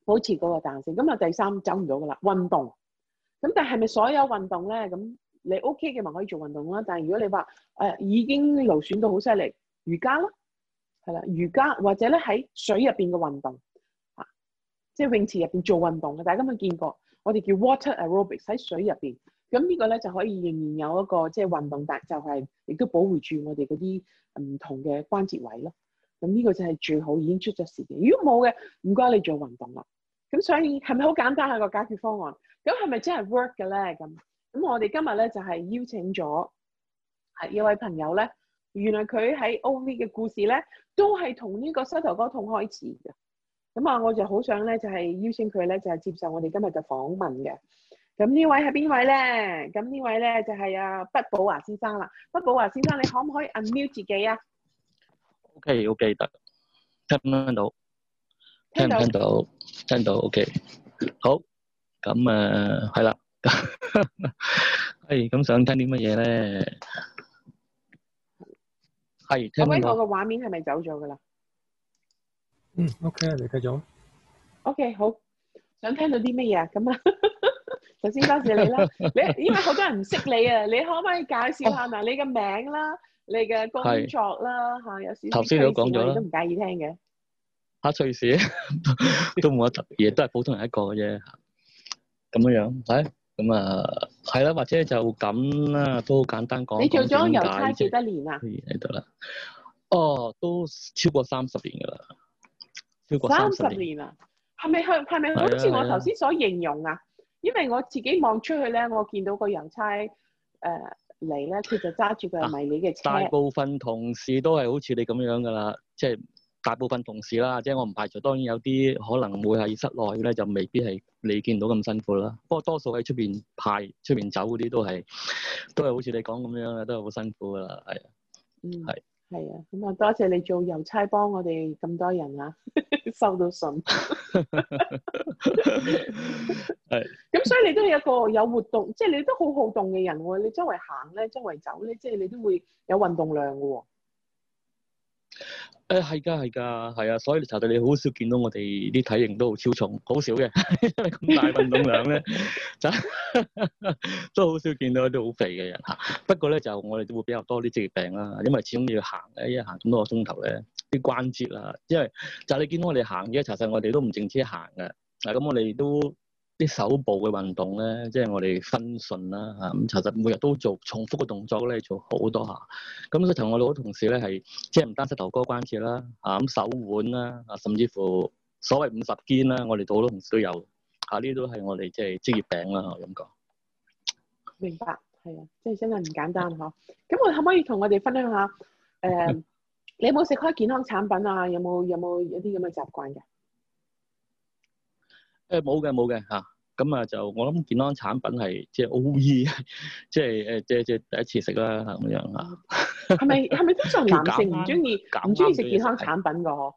Speaker 1: 保持嗰個彈性。咁啊第三走唔到噶啦，運動。咁但係咪所有運動咧？咁你 OK 嘅咪可以做運動啦。但係如果你話誒、呃、已經勞損到好犀利，瑜伽啦，係啦，瑜伽或者咧喺水入邊嘅運動嚇，即係泳池入邊做運動嘅，大家有冇見過？我哋叫 water aerobics 喺水入邊。咁呢個咧就可以仍然有一個即係運動，但就係亦都保護住我哋嗰啲唔同嘅關節位咯。咁呢個就係最好已經出咗事嘅。如果冇嘅，唔該你做運動啦。咁所以係咪好簡單係個解決方案？咁係咪真係 work 嘅咧？咁咁我哋今日咧就係、是、邀請咗係一位朋友咧，原來佢喺 O V 嘅故事咧都係同呢個膝頭哥痛開始嘅。咁啊，我就好想咧就係、是、邀請佢咧就係、是、接受我哋今日嘅訪問嘅。咁呢位係邊位咧？咁呢位咧就係、是、阿畢寶華先生啦。畢寶華先生，你可唔可以 unmute 自己啊
Speaker 2: ？OK OK 得，聽唔聽到？聽唔聽到？聽到 OK。好，咁誒係啦。係咁想聽啲乜嘢咧？係聽唔聽到？
Speaker 1: 我個畫面係咪走咗噶啦？
Speaker 3: 嗯 OK 啊，你繼續。
Speaker 1: OK 好，想聽到啲乜嘢啊？咁啊〜首先多謝你啦，你因為好多人唔識你啊，你可唔可以介紹下嗱、哦、你嘅名啦，你嘅工作啦嚇，有少少
Speaker 2: 頭先都講咗啦，
Speaker 1: 都唔介意聽嘅。
Speaker 2: 嚇趣事都冇乜特別嘢，都係普通人一個嘅啫。咁樣樣係咁啊，係啦，或者就咁啦，都好簡單講。
Speaker 1: 你做咗郵差幾多年啊？
Speaker 2: 喺度啦，哦，都超過三十年㗎啦，超過三十年
Speaker 1: 啊？係咪係係咪好似我頭先所形容啊？因為我自己望出去咧，我見到個郵差誒嚟咧，佢、呃、就揸住個迷你嘅車。
Speaker 2: 大部分同事都係好似你咁樣噶啦，即係大部分同事啦，即係我唔排除，當然有啲可能會喺室內咧，就未必係你見到咁辛苦啦。不過多數喺出邊派、出邊走嗰啲都係都係好似你講咁樣嘅，都係好辛苦噶啦，係啊，
Speaker 1: 嗯，
Speaker 2: 係。
Speaker 1: 係啊，咁啊多謝你做郵差幫我哋咁多人啊，收到信。係。咁所以你都係一個有活動，即係你都好好動嘅人喎。你周圍行咧，周圍走咧，即係你都會有運動量嘅喎。
Speaker 2: 誒係㗎係㗎係啊，所以查到你好少見到我哋啲體型都好超重，好少嘅，因為咁大運動量咧，就都好少見到啲好肥嘅人嚇。不過咧就我哋都會比較多啲職業病啦，因為始終要行咧，一行咁多個鐘頭咧，啲關節啊，因為就係你見到我哋行嘅，查實我哋都唔淨止行嘅，嗱咁我哋都。啲手部嘅運動咧，即係我哋分順啦嚇，咁其實每日都做重複嘅動作咧，做好多下。咁所以同我哋好多同事咧係，即係唔單膝頭哥關節啦，啊咁手腕啦，啊甚至乎所謂五十肩啦，我哋好多同事都有。嚇，呢啲都係我哋即係職業病啦，我咁講。
Speaker 1: 明白，係啊，即係真係唔簡單呵。咁我可唔可以同我哋分享下？誒、呃，你有冇食開健康產品啊？有冇有冇一啲咁嘅習慣嘅？
Speaker 2: 誒冇嘅冇嘅嚇，咁啊就我諗健康產品係即係 O E，即係誒即係即係第一次食啦咁樣嚇。
Speaker 1: 係咪係咪通常男性唔中意唔中意食健康產品㗎？嗬？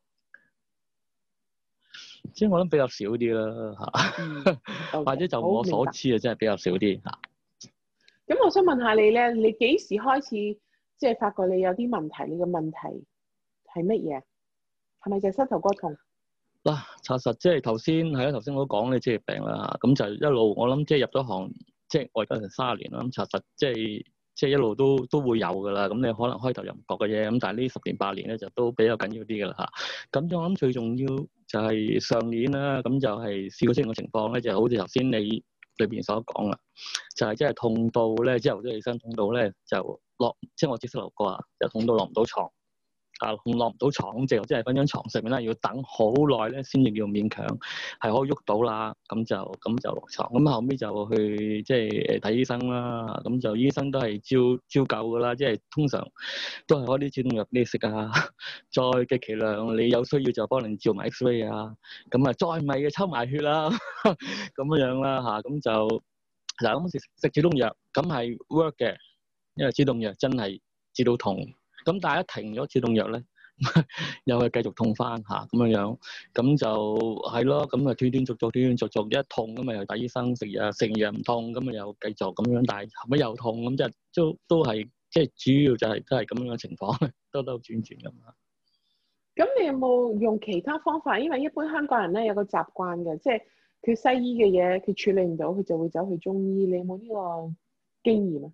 Speaker 2: 即係我諗比較少啲啦嚇，嗯 okay，或者就我所知啊，真係比較少啲嚇。
Speaker 1: 咁我想問下你咧，你幾時開始即係發覺你有啲問題？你嘅問題係乜嘢？係咪就係膝頭哥痛？
Speaker 2: 嗱，查實即係頭先係啦，頭先我都講你職業病啦嚇，咁就一路我諗即係入咗行，即係我而家成三十年啦，咁查實即係即係一路都都會有噶啦，咁你可能開頭又唔覺嘅嘢，咁但係呢十年八年咧就都比較緊要啲噶啦嚇。咁我諗最重要就係上年啦，咁就係試過出現嘅情況咧，就係好似頭先你裏邊所講啦，就係即係痛到咧，朝頭早起身痛到咧就落，即係我接膝頭哥啊，就痛到落唔到床。啊，落唔到床，咁即係即係瞓張床上面啦，要等好耐咧，先至叫勉強係可以喐到啦。咁就咁就落床，咁後尾就去即係誒睇醫生啦。咁就醫生都係照照舊噶啦，即係通常都係開啲止痛藥俾你食啊。再極其量你有需要就幫你照埋 X-ray 啊。咁啊，再唔係嘅抽埋血啦，咁樣樣啦嚇。咁就嗱咁食食止痛藥，咁係 work 嘅，因為止痛藥真係止到痛。咁但係一停咗止痛藥咧，又係繼續痛翻嚇咁樣樣，咁就係咯，咁啊斷斷續續斷斷續續一痛咁咪又睇醫生食藥，食藥唔痛咁啊又繼續咁樣，但係後尾又痛咁，即係都都係即係主要就係都係咁樣嘅情況，兜兜轉轉咁啊。
Speaker 1: 咁你有冇用其他方法？因為一般香港人咧有個習慣嘅，即係佢西醫嘅嘢佢處理唔到，佢就會走去中醫。你有冇呢個經驗啊？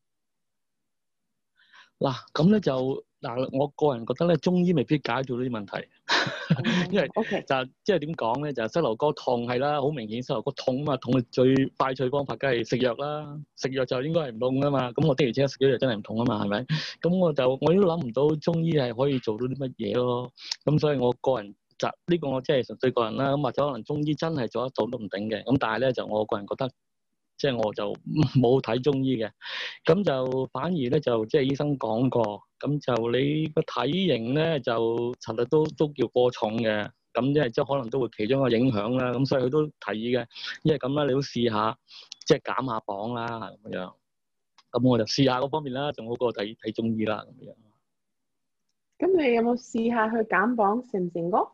Speaker 2: 嗱，咁咧就嗱，我個人覺得咧，中醫未必解到呢啲問題，因為
Speaker 1: O K
Speaker 2: 就即係點講咧，就膝頭哥痛係啦，好明顯膝頭哥痛啊嘛，痛嘅最快脆方法梗係食藥啦，食藥就應該係唔痛噶嘛。咁我的而且確食咗藥真係唔痛啊嘛，係咪？咁我就我都諗唔到中醫係可以做到啲乜嘢咯。咁所以我個人就呢個我即係純粹個人啦。咁或者可能中醫真係做得到都唔定嘅。咁但係咧就我個人覺得。即係我就冇睇中醫嘅，咁就反而咧就即係醫生講過，咁就你個體型咧就其實都都叫過重嘅，咁即係即係可能都會其中一個影響啦。咁所以佢都提議嘅，因為咁啦，你都試下即係減下磅啦咁樣。咁我就試下嗰方面啦，仲好過睇睇中醫啦咁樣。
Speaker 1: 咁你有冇試下去減磅，成唔成功？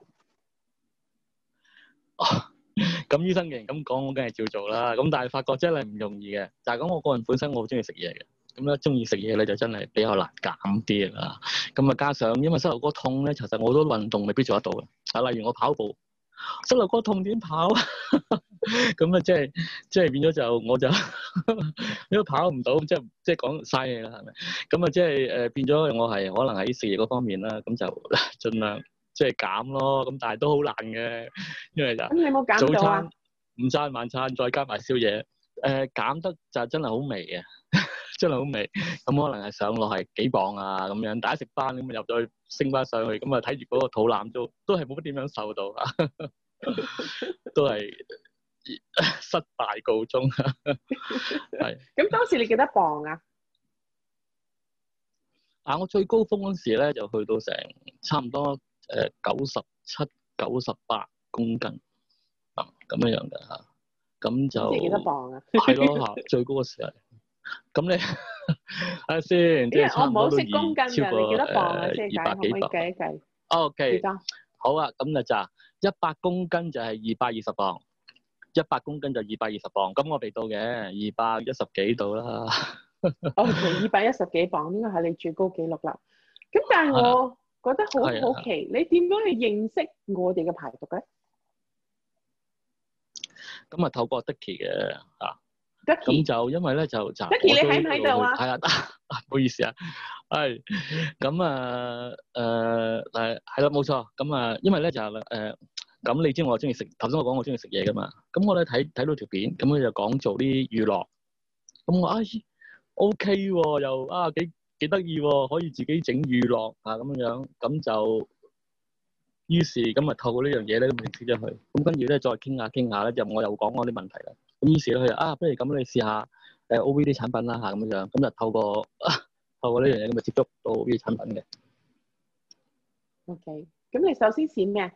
Speaker 2: 咁醫生既然咁講，我梗係照做啦。咁但係發覺真係唔容易嘅。就係講我個人本身我好中意食嘢嘅，咁咧中意食嘢咧就真係比較難減啲啦。咁啊加上因為膝頭哥痛咧，其實我好多運動未必做得到嘅。啊，例如我跑步，膝頭哥痛點跑？咁啊即係即係變咗就我就因為跑唔到，即係即係講嘥嘢啦，係咪？咁啊即係誒變咗我係可能喺食嘢嗰方面啦，咁就盡量。即係減咯，咁但係都好難嘅，因為就
Speaker 1: 咁你有冇減
Speaker 2: 早
Speaker 1: 到啊？
Speaker 2: 餐、午餐、晚餐再加埋宵夜，誒、呃、減得就真係好微嘅，真係好微。咁可能係上落係幾磅啊咁樣，大家食翻咁入咗去升翻上去，咁啊睇住嗰個肚腩都都係冇乜點樣瘦到啊，都係失敗告終。係。
Speaker 1: 咁當時你幾多磅啊？
Speaker 2: 啊！我最高峰嗰時咧就去到成差唔多。誒九十七、九十八公斤啊，咁樣樣嘅嚇，咁就
Speaker 1: 即係幾多磅啊？
Speaker 2: 係咯嚇，最高嘅時候。咁你睇下先，即係差唔多都二超過誒二百幾磅。
Speaker 1: 計一計。
Speaker 2: O K。
Speaker 1: 幾多？
Speaker 2: 好啊，咁就就一百公斤就係二百二十磅，一百公斤就二百二十磅。咁我未到嘅，二百一十幾度啦。
Speaker 1: O K， 二百一十幾磅應該係你最高紀錄啦。咁但係我覺得好好奇，你點樣去認識我哋嘅排毒咧？
Speaker 2: 咁啊，透過 Dicky 嘅嚇，咁
Speaker 1: Dicky
Speaker 2: 就因為咧就就
Speaker 1: Dicky 你喺唔喺度啊？
Speaker 2: 係啊，唔好意思啊，係咁啊誒誒係啦，冇錯。咁啊，因為咧就係誒咁，你知我中意食，頭先我講我中意食嘢噶嘛。咁我咧睇睇到條片，咁佢就講做啲娛樂，咁我啊 OK 喎，又啊幾〜幾得意喎，可以自己整娛樂啊咁樣，咁就於是咁啊透過呢樣嘢咧，咁認識咗佢，咁跟住咧再傾下傾下咧，就我又講我啲問題啦。咁於是咧佢就啊，不如咁你試下誒 O V 啲產品啦嚇咁樣，咁就透過透過呢樣嘢咁就接觸到 O V 產品嘅。
Speaker 1: OK，咁你首先試咩？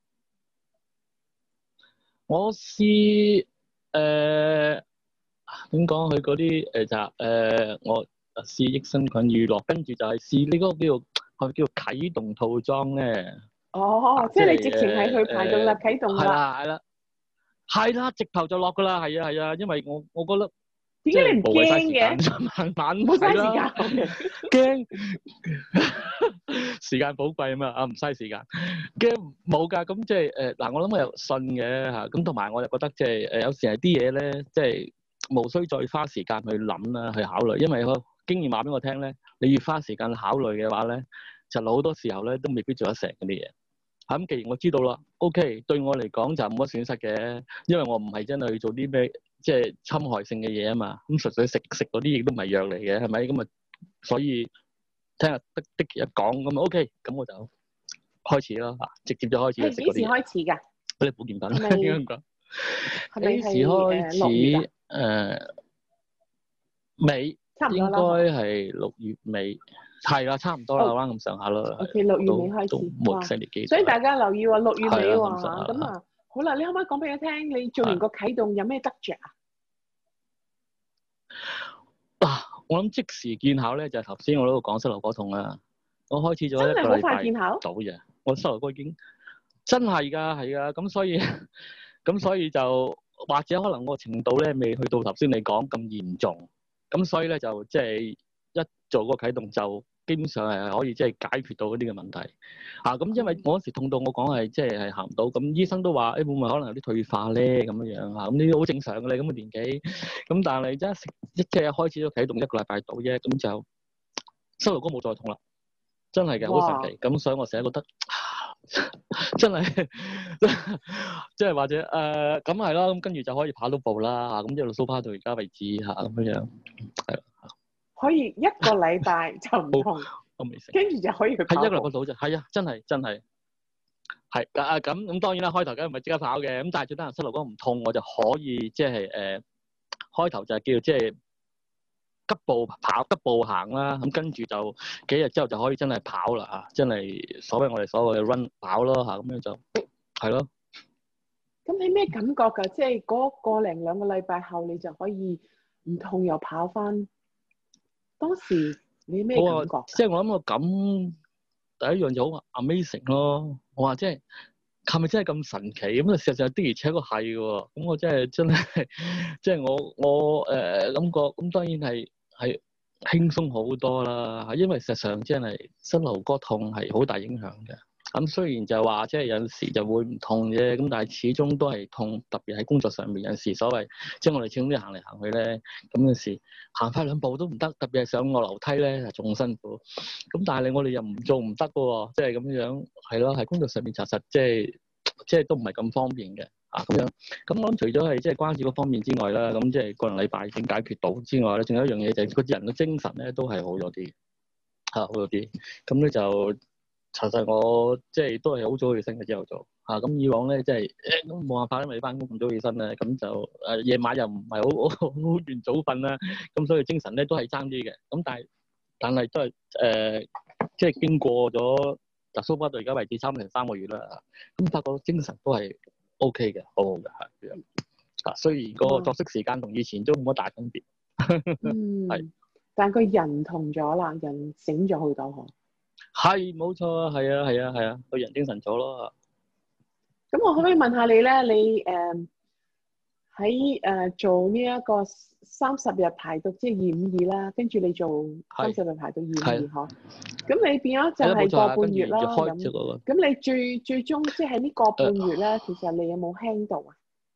Speaker 2: 我試誒點講佢嗰啲誒就誒我。試益生菌乳酪，跟住就係試呢個叫做係叫做啟動套裝咧。
Speaker 1: 哦，啊、即係你直情係去排毒啦，啟、呃、動啦。係
Speaker 2: 啦，係啦，係啦，直頭就落噶啦，係啊，係啊，因為我我覺得
Speaker 1: 點解你唔驚嘅？
Speaker 2: 慢慢
Speaker 1: 冇嘥時間，
Speaker 2: 驚時間寶貴啊嘛，啊唔嘥時間，驚冇㗎。咁即係誒嗱，我諗我又信嘅嚇，咁同埋我又覺得即係誒有時係啲嘢咧，即係無需再花時間去諗啦，去考慮，因為我。經驗話俾我聽咧，你要花時間考慮嘅話咧，就好多時候咧都未必做得成嗰啲嘢。嚇咁，既然我知道啦 ，OK，對我嚟講就冇乜損失嘅，因為我唔係真係去做啲咩即係侵害性嘅嘢啊嘛。咁純粹食食嗰啲亦都唔係藥嚟嘅，係咪？咁啊，所以聽日的的一講咁啊 OK，咁我就開始啦嚇，直接就開始食嗰啲。
Speaker 1: 幾時開始㗎？
Speaker 2: 嗰啲保健品應該咁講。幾時開始？誒尾。應該係六月尾，係啦，差唔多啦，啱咁上下啦。
Speaker 1: O K， 六月尾開始，所以大家留意喎，六月尾喎嚇。咁啊，好啦，你可唔可以講俾我聽，你做完個啟動有咩得着啊？
Speaker 2: 嗱，我諗即時見效咧，就係頭先我喺度講膝頭哥痛啦。我開始咗一個禮拜，
Speaker 1: 真係好快見效。
Speaker 2: 早嘅，我膝頭哥已經真係㗎，係㗎。咁所以咁所以就或者可能個程度咧未去到頭先你講咁嚴重。咁所以咧就即係一做個啟動就基本上係可以即係解決到嗰啲嘅問題啊。咁因為我嗰時痛到我講係即係係行唔到，咁醫生都話誒、欸、會唔會可能有啲退化咧咁樣樣啊？咁呢啲好正常嘅咧，咁嘅年紀。咁但係一食一即係一開始都啟動一個禮拜到啫，咁就膝頭哥冇再痛啦，真係嘅，好神奇。咁所以我成日覺得。真係，即係或者誒咁係啦，咁跟住就可以跑到步啦嚇，咁一路蘇跑到而家為止嚇，咁樣樣係啦。
Speaker 1: 可以一個禮拜就唔痛，
Speaker 2: 我未食，
Speaker 1: 跟住就可以去跑步。
Speaker 2: 係一個禮拜到啫，係啊，真係真係係啊咁咁當然啦，開頭梗係唔係即刻跑嘅，咁但係最得人膝頭哥唔痛，我就可以即係誒開頭就係叫即係。急步跑，急步行啦，咁跟住就幾日之後就可以真係跑啦嚇，真係所謂我哋所謂嘅 run 跑咯嚇，咁樣就係咯。
Speaker 1: 咁你咩感覺㗎？即係嗰個零兩個禮拜後，你就可以唔痛又跑翻。當時你咩感覺？
Speaker 2: 即係我諗個感第一樣就好 amazing 咯。我話即係係咪真係咁神奇？咁啊事實上的而且確係喎。咁我真係真係即係我我誒、呃、感覺咁當然係。係輕鬆好多啦，因為實際上真係膝頭哥痛係好大影響嘅。咁雖然就話即係有陣時就會唔痛啫，咁但係始終都係痛，特別喺工作上面有陣時所謂，即係我哋始終都行嚟行去咧，咁有時行快兩步都唔得，特別係上個樓梯咧係仲辛苦。咁但係你我哋又唔做唔得嘅喎，即係咁樣係咯，喺工作上面查實即係即係都唔係咁方便嘅。啊咁樣，咁我諗除咗係即係關節嗰方面之外啦，咁即係個零禮拜已經解決到之外咧，仲有一樣嘢就係嗰啲人嘅精神咧都係好咗啲，嚇好咗啲。咁咧就查實我即係都係好早起身嘅朝頭早，嚇咁以往咧即係都冇辦法，因為翻工咁早起身咧，咁就誒夜晚又唔係好好好願早瞓啦，咁所以精神咧都係爭啲嘅。咁但係但係都係誒，即係經過咗就蘇巴到而家為止差唔多成三個月啦，咁發覺精神都係。O K 嘅，好好嘅，係咁。啊，雖然個作息時間同以前都冇乜大分別。
Speaker 1: 嗯，係
Speaker 2: 是，
Speaker 1: 但個人同咗啦，人醒咗好多嗬。
Speaker 2: 係，冇錯啊，係啊，係啊，係啊，個人精神咗咯。
Speaker 1: 咁我可唔可以問下你咧？你誒喺誒做呢一個三十日排毒，即係二五二啦，跟住你做三十日排毒二五二嗬。咁你變咗就係個半月啦。咁咁你最最終即係呢個半月咧，呃、其實你有冇 handle 啊？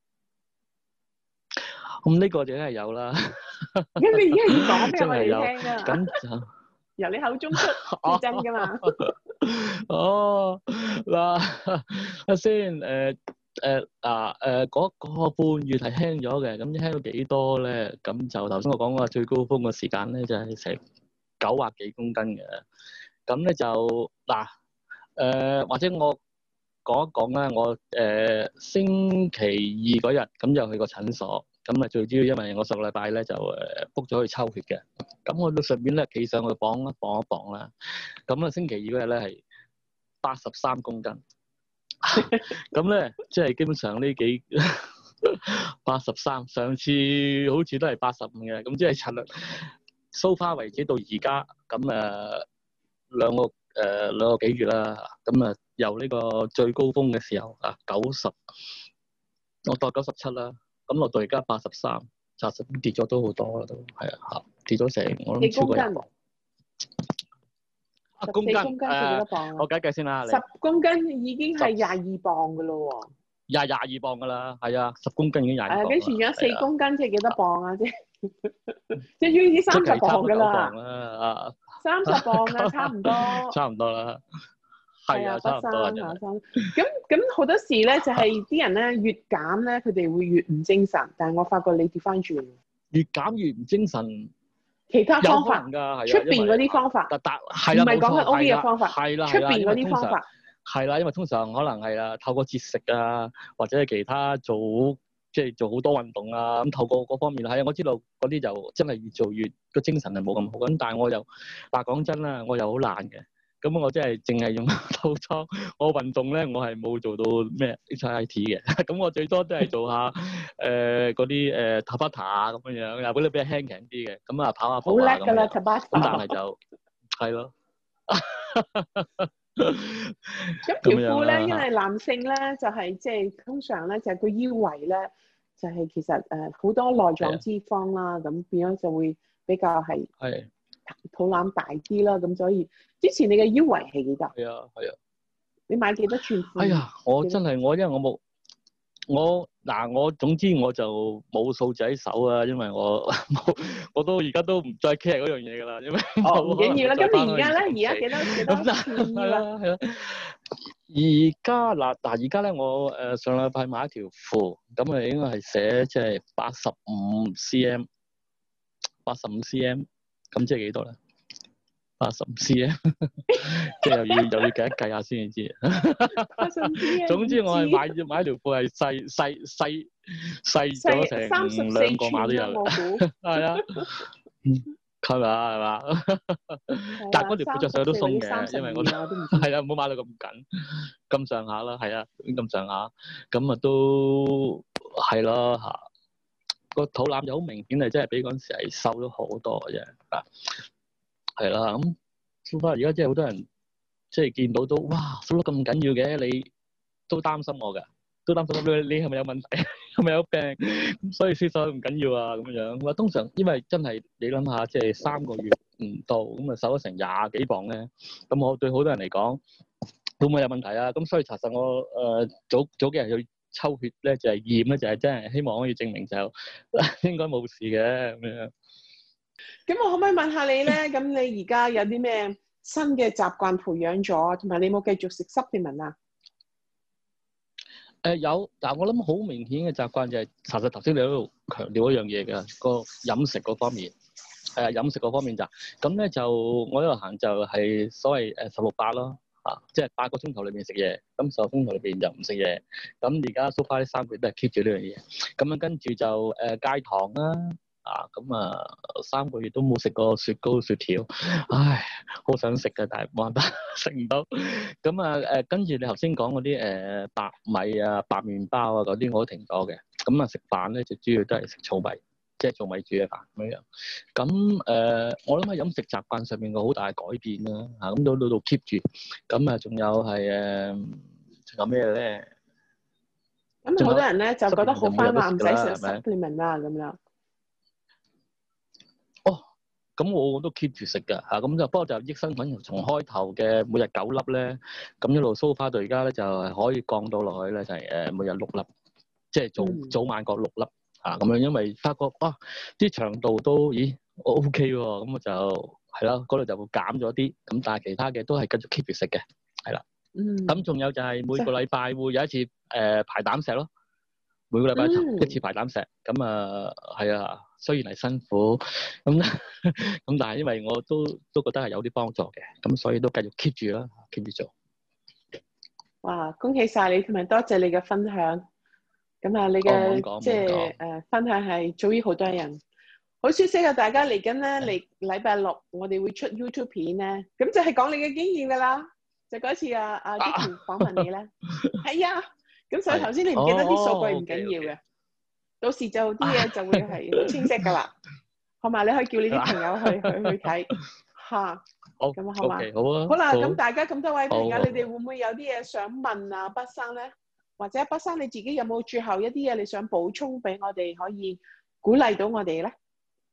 Speaker 2: 咁呢個就梗係有啦。
Speaker 1: 咁你而家要講俾我哋聽啊？
Speaker 2: 咁就
Speaker 1: 由你口中出係真㗎嘛？
Speaker 2: 哦，嗱，阿先誒。誒嗱誒嗰個半月係輕咗嘅，咁輕到幾多咧？咁就頭先我講嗰個最高峰嘅時間咧，就係成九百幾公斤嘅。咁咧就嗱誒，或者我講一講啦，我誒星期二嗰日咁就去個診所，咁啊最主要因為我上個禮拜咧就誒 book 咗去抽血嘅，咁我到上邊咧企上去磅一磅一磅啦，咁啊星期二嗰日咧係八十三公斤。咁咧，即係基本上呢幾八十三，上次好似都係八十五嘅，咁即係尋日 so far 為止到而家，咁誒兩個誒、呃、兩個幾月啦，咁啊由呢個最高峰嘅時候啊九十，我當九十七啦，咁落到而家八十三，查實跌咗都好多啦，都係啊嚇，跌咗成我諗超過廿磅。十公斤，公斤
Speaker 1: 係幾多磅啊？
Speaker 2: 我計計先啦。
Speaker 1: 十公斤已經係廿二磅噶咯喎。廿
Speaker 2: 廿二磅噶啦，係啊，十公斤已經廿二磅。
Speaker 1: 誒，跟住而家四公斤即係幾多磅啊？即係即係要啲三十磅噶啦。
Speaker 2: 啊，
Speaker 1: 三十磅啊，差唔多。
Speaker 2: 差唔多啦。係啊，差唔多啦。
Speaker 1: 咁咁好多時咧，就係啲人咧越減咧，佢哋會越唔精神。但係我發覺你調翻轉。
Speaker 2: 越減越唔精神。
Speaker 1: 其他方法，出邊嗰啲方法，
Speaker 2: 但但係啦，
Speaker 1: 唔係講緊 O V 嘅方法，
Speaker 2: 係啦，
Speaker 1: 出邊嗰啲方法，
Speaker 2: 係啦，因為通常可能係啦，透過節食啊，或者係其他做即係做好多運動啊，咁透過嗰方面係啊，我知道嗰啲就真係越做越個精神係冇咁好，咁但係我又話講真啦，我又好懶嘅。咁我真係淨係用套裝，我運動咧，我係冇做到咩 H I I T 嘅。咁我最多都係做下誒嗰啲誒 Tabata 啊咁樣樣，又嗰啲比較輕強啲嘅。咁啊跑下步啊咁。好叻㗎啦 Tabata。咁但係就係咯。
Speaker 1: 咁條褲咧，因為男性咧就係即係通常咧就係個腰圍咧就係其實誒好多內臟脂肪啦，咁變咗就會比較係。係。 肚腩大啲啦，咁所以之前你嘅腰圍係幾多？
Speaker 2: 係啊係啊。
Speaker 1: 你買幾多寸褲？
Speaker 2: 哎呀，我真係我因為我冇我嗱我總之我就冇數字喺手啊，因為我冇我都而家都唔再 care 嗰樣嘢㗎啦，因為
Speaker 1: 哦唔緊要啦。咁你而家咧？
Speaker 2: 而
Speaker 1: 而家幾多幾多寸腰啊？
Speaker 2: 係啊。而家嗱嗱而家咧，我誒、呃、上禮拜買一條褲，咁啊應該係寫即係八十五 cm， 八十五 cm， 咁即係幾多咧？八十五 cm， 即係又要又要計一計下先至知。
Speaker 1: 八十五 cm。
Speaker 2: 總之我係買買條褲係細細細細咗成兩個碼都有。
Speaker 1: 我估
Speaker 2: 係啊。係咪啊？係嘛？但係嗰條褲着上去都鬆嘅，因為我係啊，唔好買到咁緊，咁上下啦，係啊，咁上下，咁啊都係咯嚇。個肚腩就好明顯係真係比嗰陣時係瘦咗好多嘅啫，啊，係啦，咁收翻而家即係好多人即係見到都哇，瘦得咁緊要嘅，你都擔心我㗎。都擔心你你係咪有問題，係咪有病？咁所以先瘦唔緊要啊咁樣。咁啊，通常因為真係你諗下，即係三個月唔到，咁啊瘦咗成廿幾磅咧。咁我對好多人嚟講，會唔會有問題啊？咁所以查實我誒、呃、早早幾日去抽血咧，就係驗咧，就係、是、真係希望可以證明就應該冇事嘅咁樣。
Speaker 1: 咁我可唔可以問下你咧？咁你而家有啲咩新嘅習慣培養咗，同埋你有冇繼續食 supplement 啊？
Speaker 2: 誒、呃、有，但係我諗好明顯嘅習慣就係、是，查實頭先你喺度強調一樣嘢嘅，個飲食嗰方面，係、呃、啊飲食嗰方面就，咁咧就我喺度行就係所謂誒十六八咯，啊，即係八個鐘頭裏邊食嘢，咁十個鐘頭裏邊就唔食嘢，咁而家 so far 呢三個月都係 keep 住呢樣嘢，咁樣跟住就誒、呃、戒糖啦。啊，咁啊，三個月都冇食過雪糕雪條，唉，好想食嘅，但係冇辦法食唔到。咁啊，誒、呃，跟住你頭先講嗰啲誒白米啊、白麵包啊嗰啲，我都停咗嘅。咁啊，食飯咧就主要都係食糙米，即係糙米煮嘅飯咁樣。咁誒、呃，我諗喺飲食習慣上面個好大嘅改變啦。嚇、啊，咁到到度 keep 住。咁啊，仲有係誒，仲有咩咧？
Speaker 1: 咁好多人咧就覺得好翻啦，唔使食 supplement 啦咁樣。
Speaker 2: 咁我都 keep 住食㗎嚇，咁就不過就益生菌從開頭嘅每日九粒咧，咁一路 so far 到而家咧就係可以降到落去咧就係誒每日六粒，即係早、嗯、早晚各六粒嚇咁樣，因為發覺哇啲腸道都咦 OK 喎，咁我就係啦，嗰度就會減咗啲，咁但係其他嘅都係繼續 keep 住食嘅，係啦。嗯。咁仲有就係每個禮拜會有一次誒、呃、排膽石咯。每個禮拜一次排膽石，咁啊係啊，雖然係辛苦，咁咁但係因為我都都覺得係有啲幫助嘅，咁所以都繼續 keep 住啦 ，keep 住做。哇！
Speaker 1: 恭喜晒你，同埋多謝你嘅分享。咁啊，你嘅即係誒分享係早於好多人。好消息啊！大家嚟緊咧，嚟禮拜六我哋會出 YouTube 片咧，咁就係講你嘅經驗噶啦。就嗰次啊啊 Dicky 訪問你咧，係啊。咁所以頭先你唔記得啲數據唔緊要嘅，到時就啲嘢就會係好清晰噶啦。好嘛，你可以叫你啲朋友去去去睇嚇。好，咁啊好嘛。好啊。好啦，咁大家咁多位朋友，你哋會唔會有啲嘢想問啊，北生咧？或者北生你自己有冇最後一啲嘢你想補充俾我哋，可以鼓勵到我哋咧？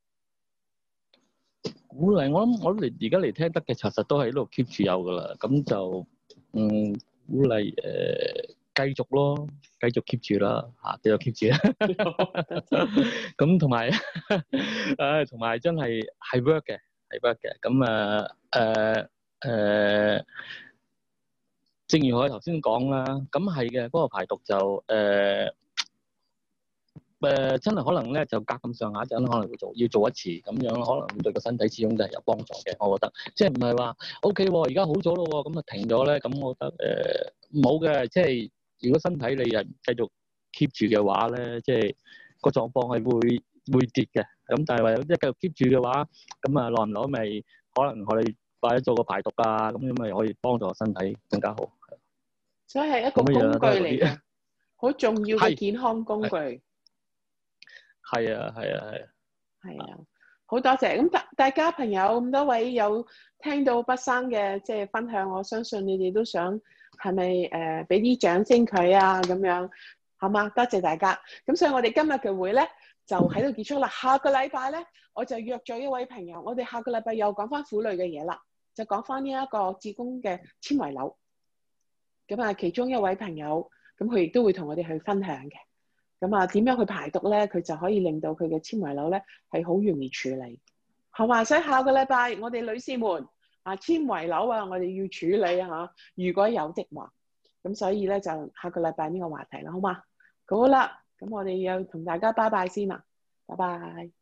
Speaker 2: 鼓勵我諗，我諗你而家嚟聽得嘅，其實都係喺度 keep 住有噶啦。咁就嗯鼓勵誒。繼續咯，繼續 keep 住啦，嚇，繼續 keep 住啦。咁同埋，誒，同埋真係係 work 嘅，係 work 嘅。咁啊，誒誒，正如我頭先講啦，咁係嘅，嗰個排毒就誒誒，真係可能咧就隔咁上下陣，可能會做，要做一次咁樣，可能對個身體始終都係有幫助嘅。我覺得，即係唔係話 OK 喎，而家好咗咯喎，咁啊停咗咧，咁我覺得誒冇嘅，即係。如果身體你又繼續 keep 住嘅話咧，即係個狀況係會會跌嘅。咁但係話有啲繼續 keep 住嘅話，咁啊耐唔耐咪可能我哋或者做個排毒啊，咁樣咪可以幫助身體更加好。
Speaker 1: 所以係一個工具嚟嘅，好重要嘅健康工具。係
Speaker 2: 啊，係啊，係啊。
Speaker 1: 係啊，好多謝。咁大大家朋友咁多位有聽到北生嘅即係分享，我相信你哋都想。係咪誒俾啲掌聲佢啊咁樣，好嘛？多謝大家。咁所以我哋今日嘅會咧就喺度結束啦。下個禮拜咧，我就約咗一位朋友，我哋下個禮拜又講翻婦女嘅嘢啦，就講翻呢一個子宮嘅纖維瘤。咁啊，其中一位朋友，咁佢亦都會同我哋去分享嘅。咁啊，點樣去排毒咧？佢就可以令到佢嘅纖維瘤咧係好容易處理。好嘛，所以下個禮拜我哋女士們啊，纖維瘤啊，我哋要處理啊，如果有的話。咁所以咧就下個禮拜呢個話題啦，好嘛？好啦，咁我哋又同大家拜拜先啦，拜拜。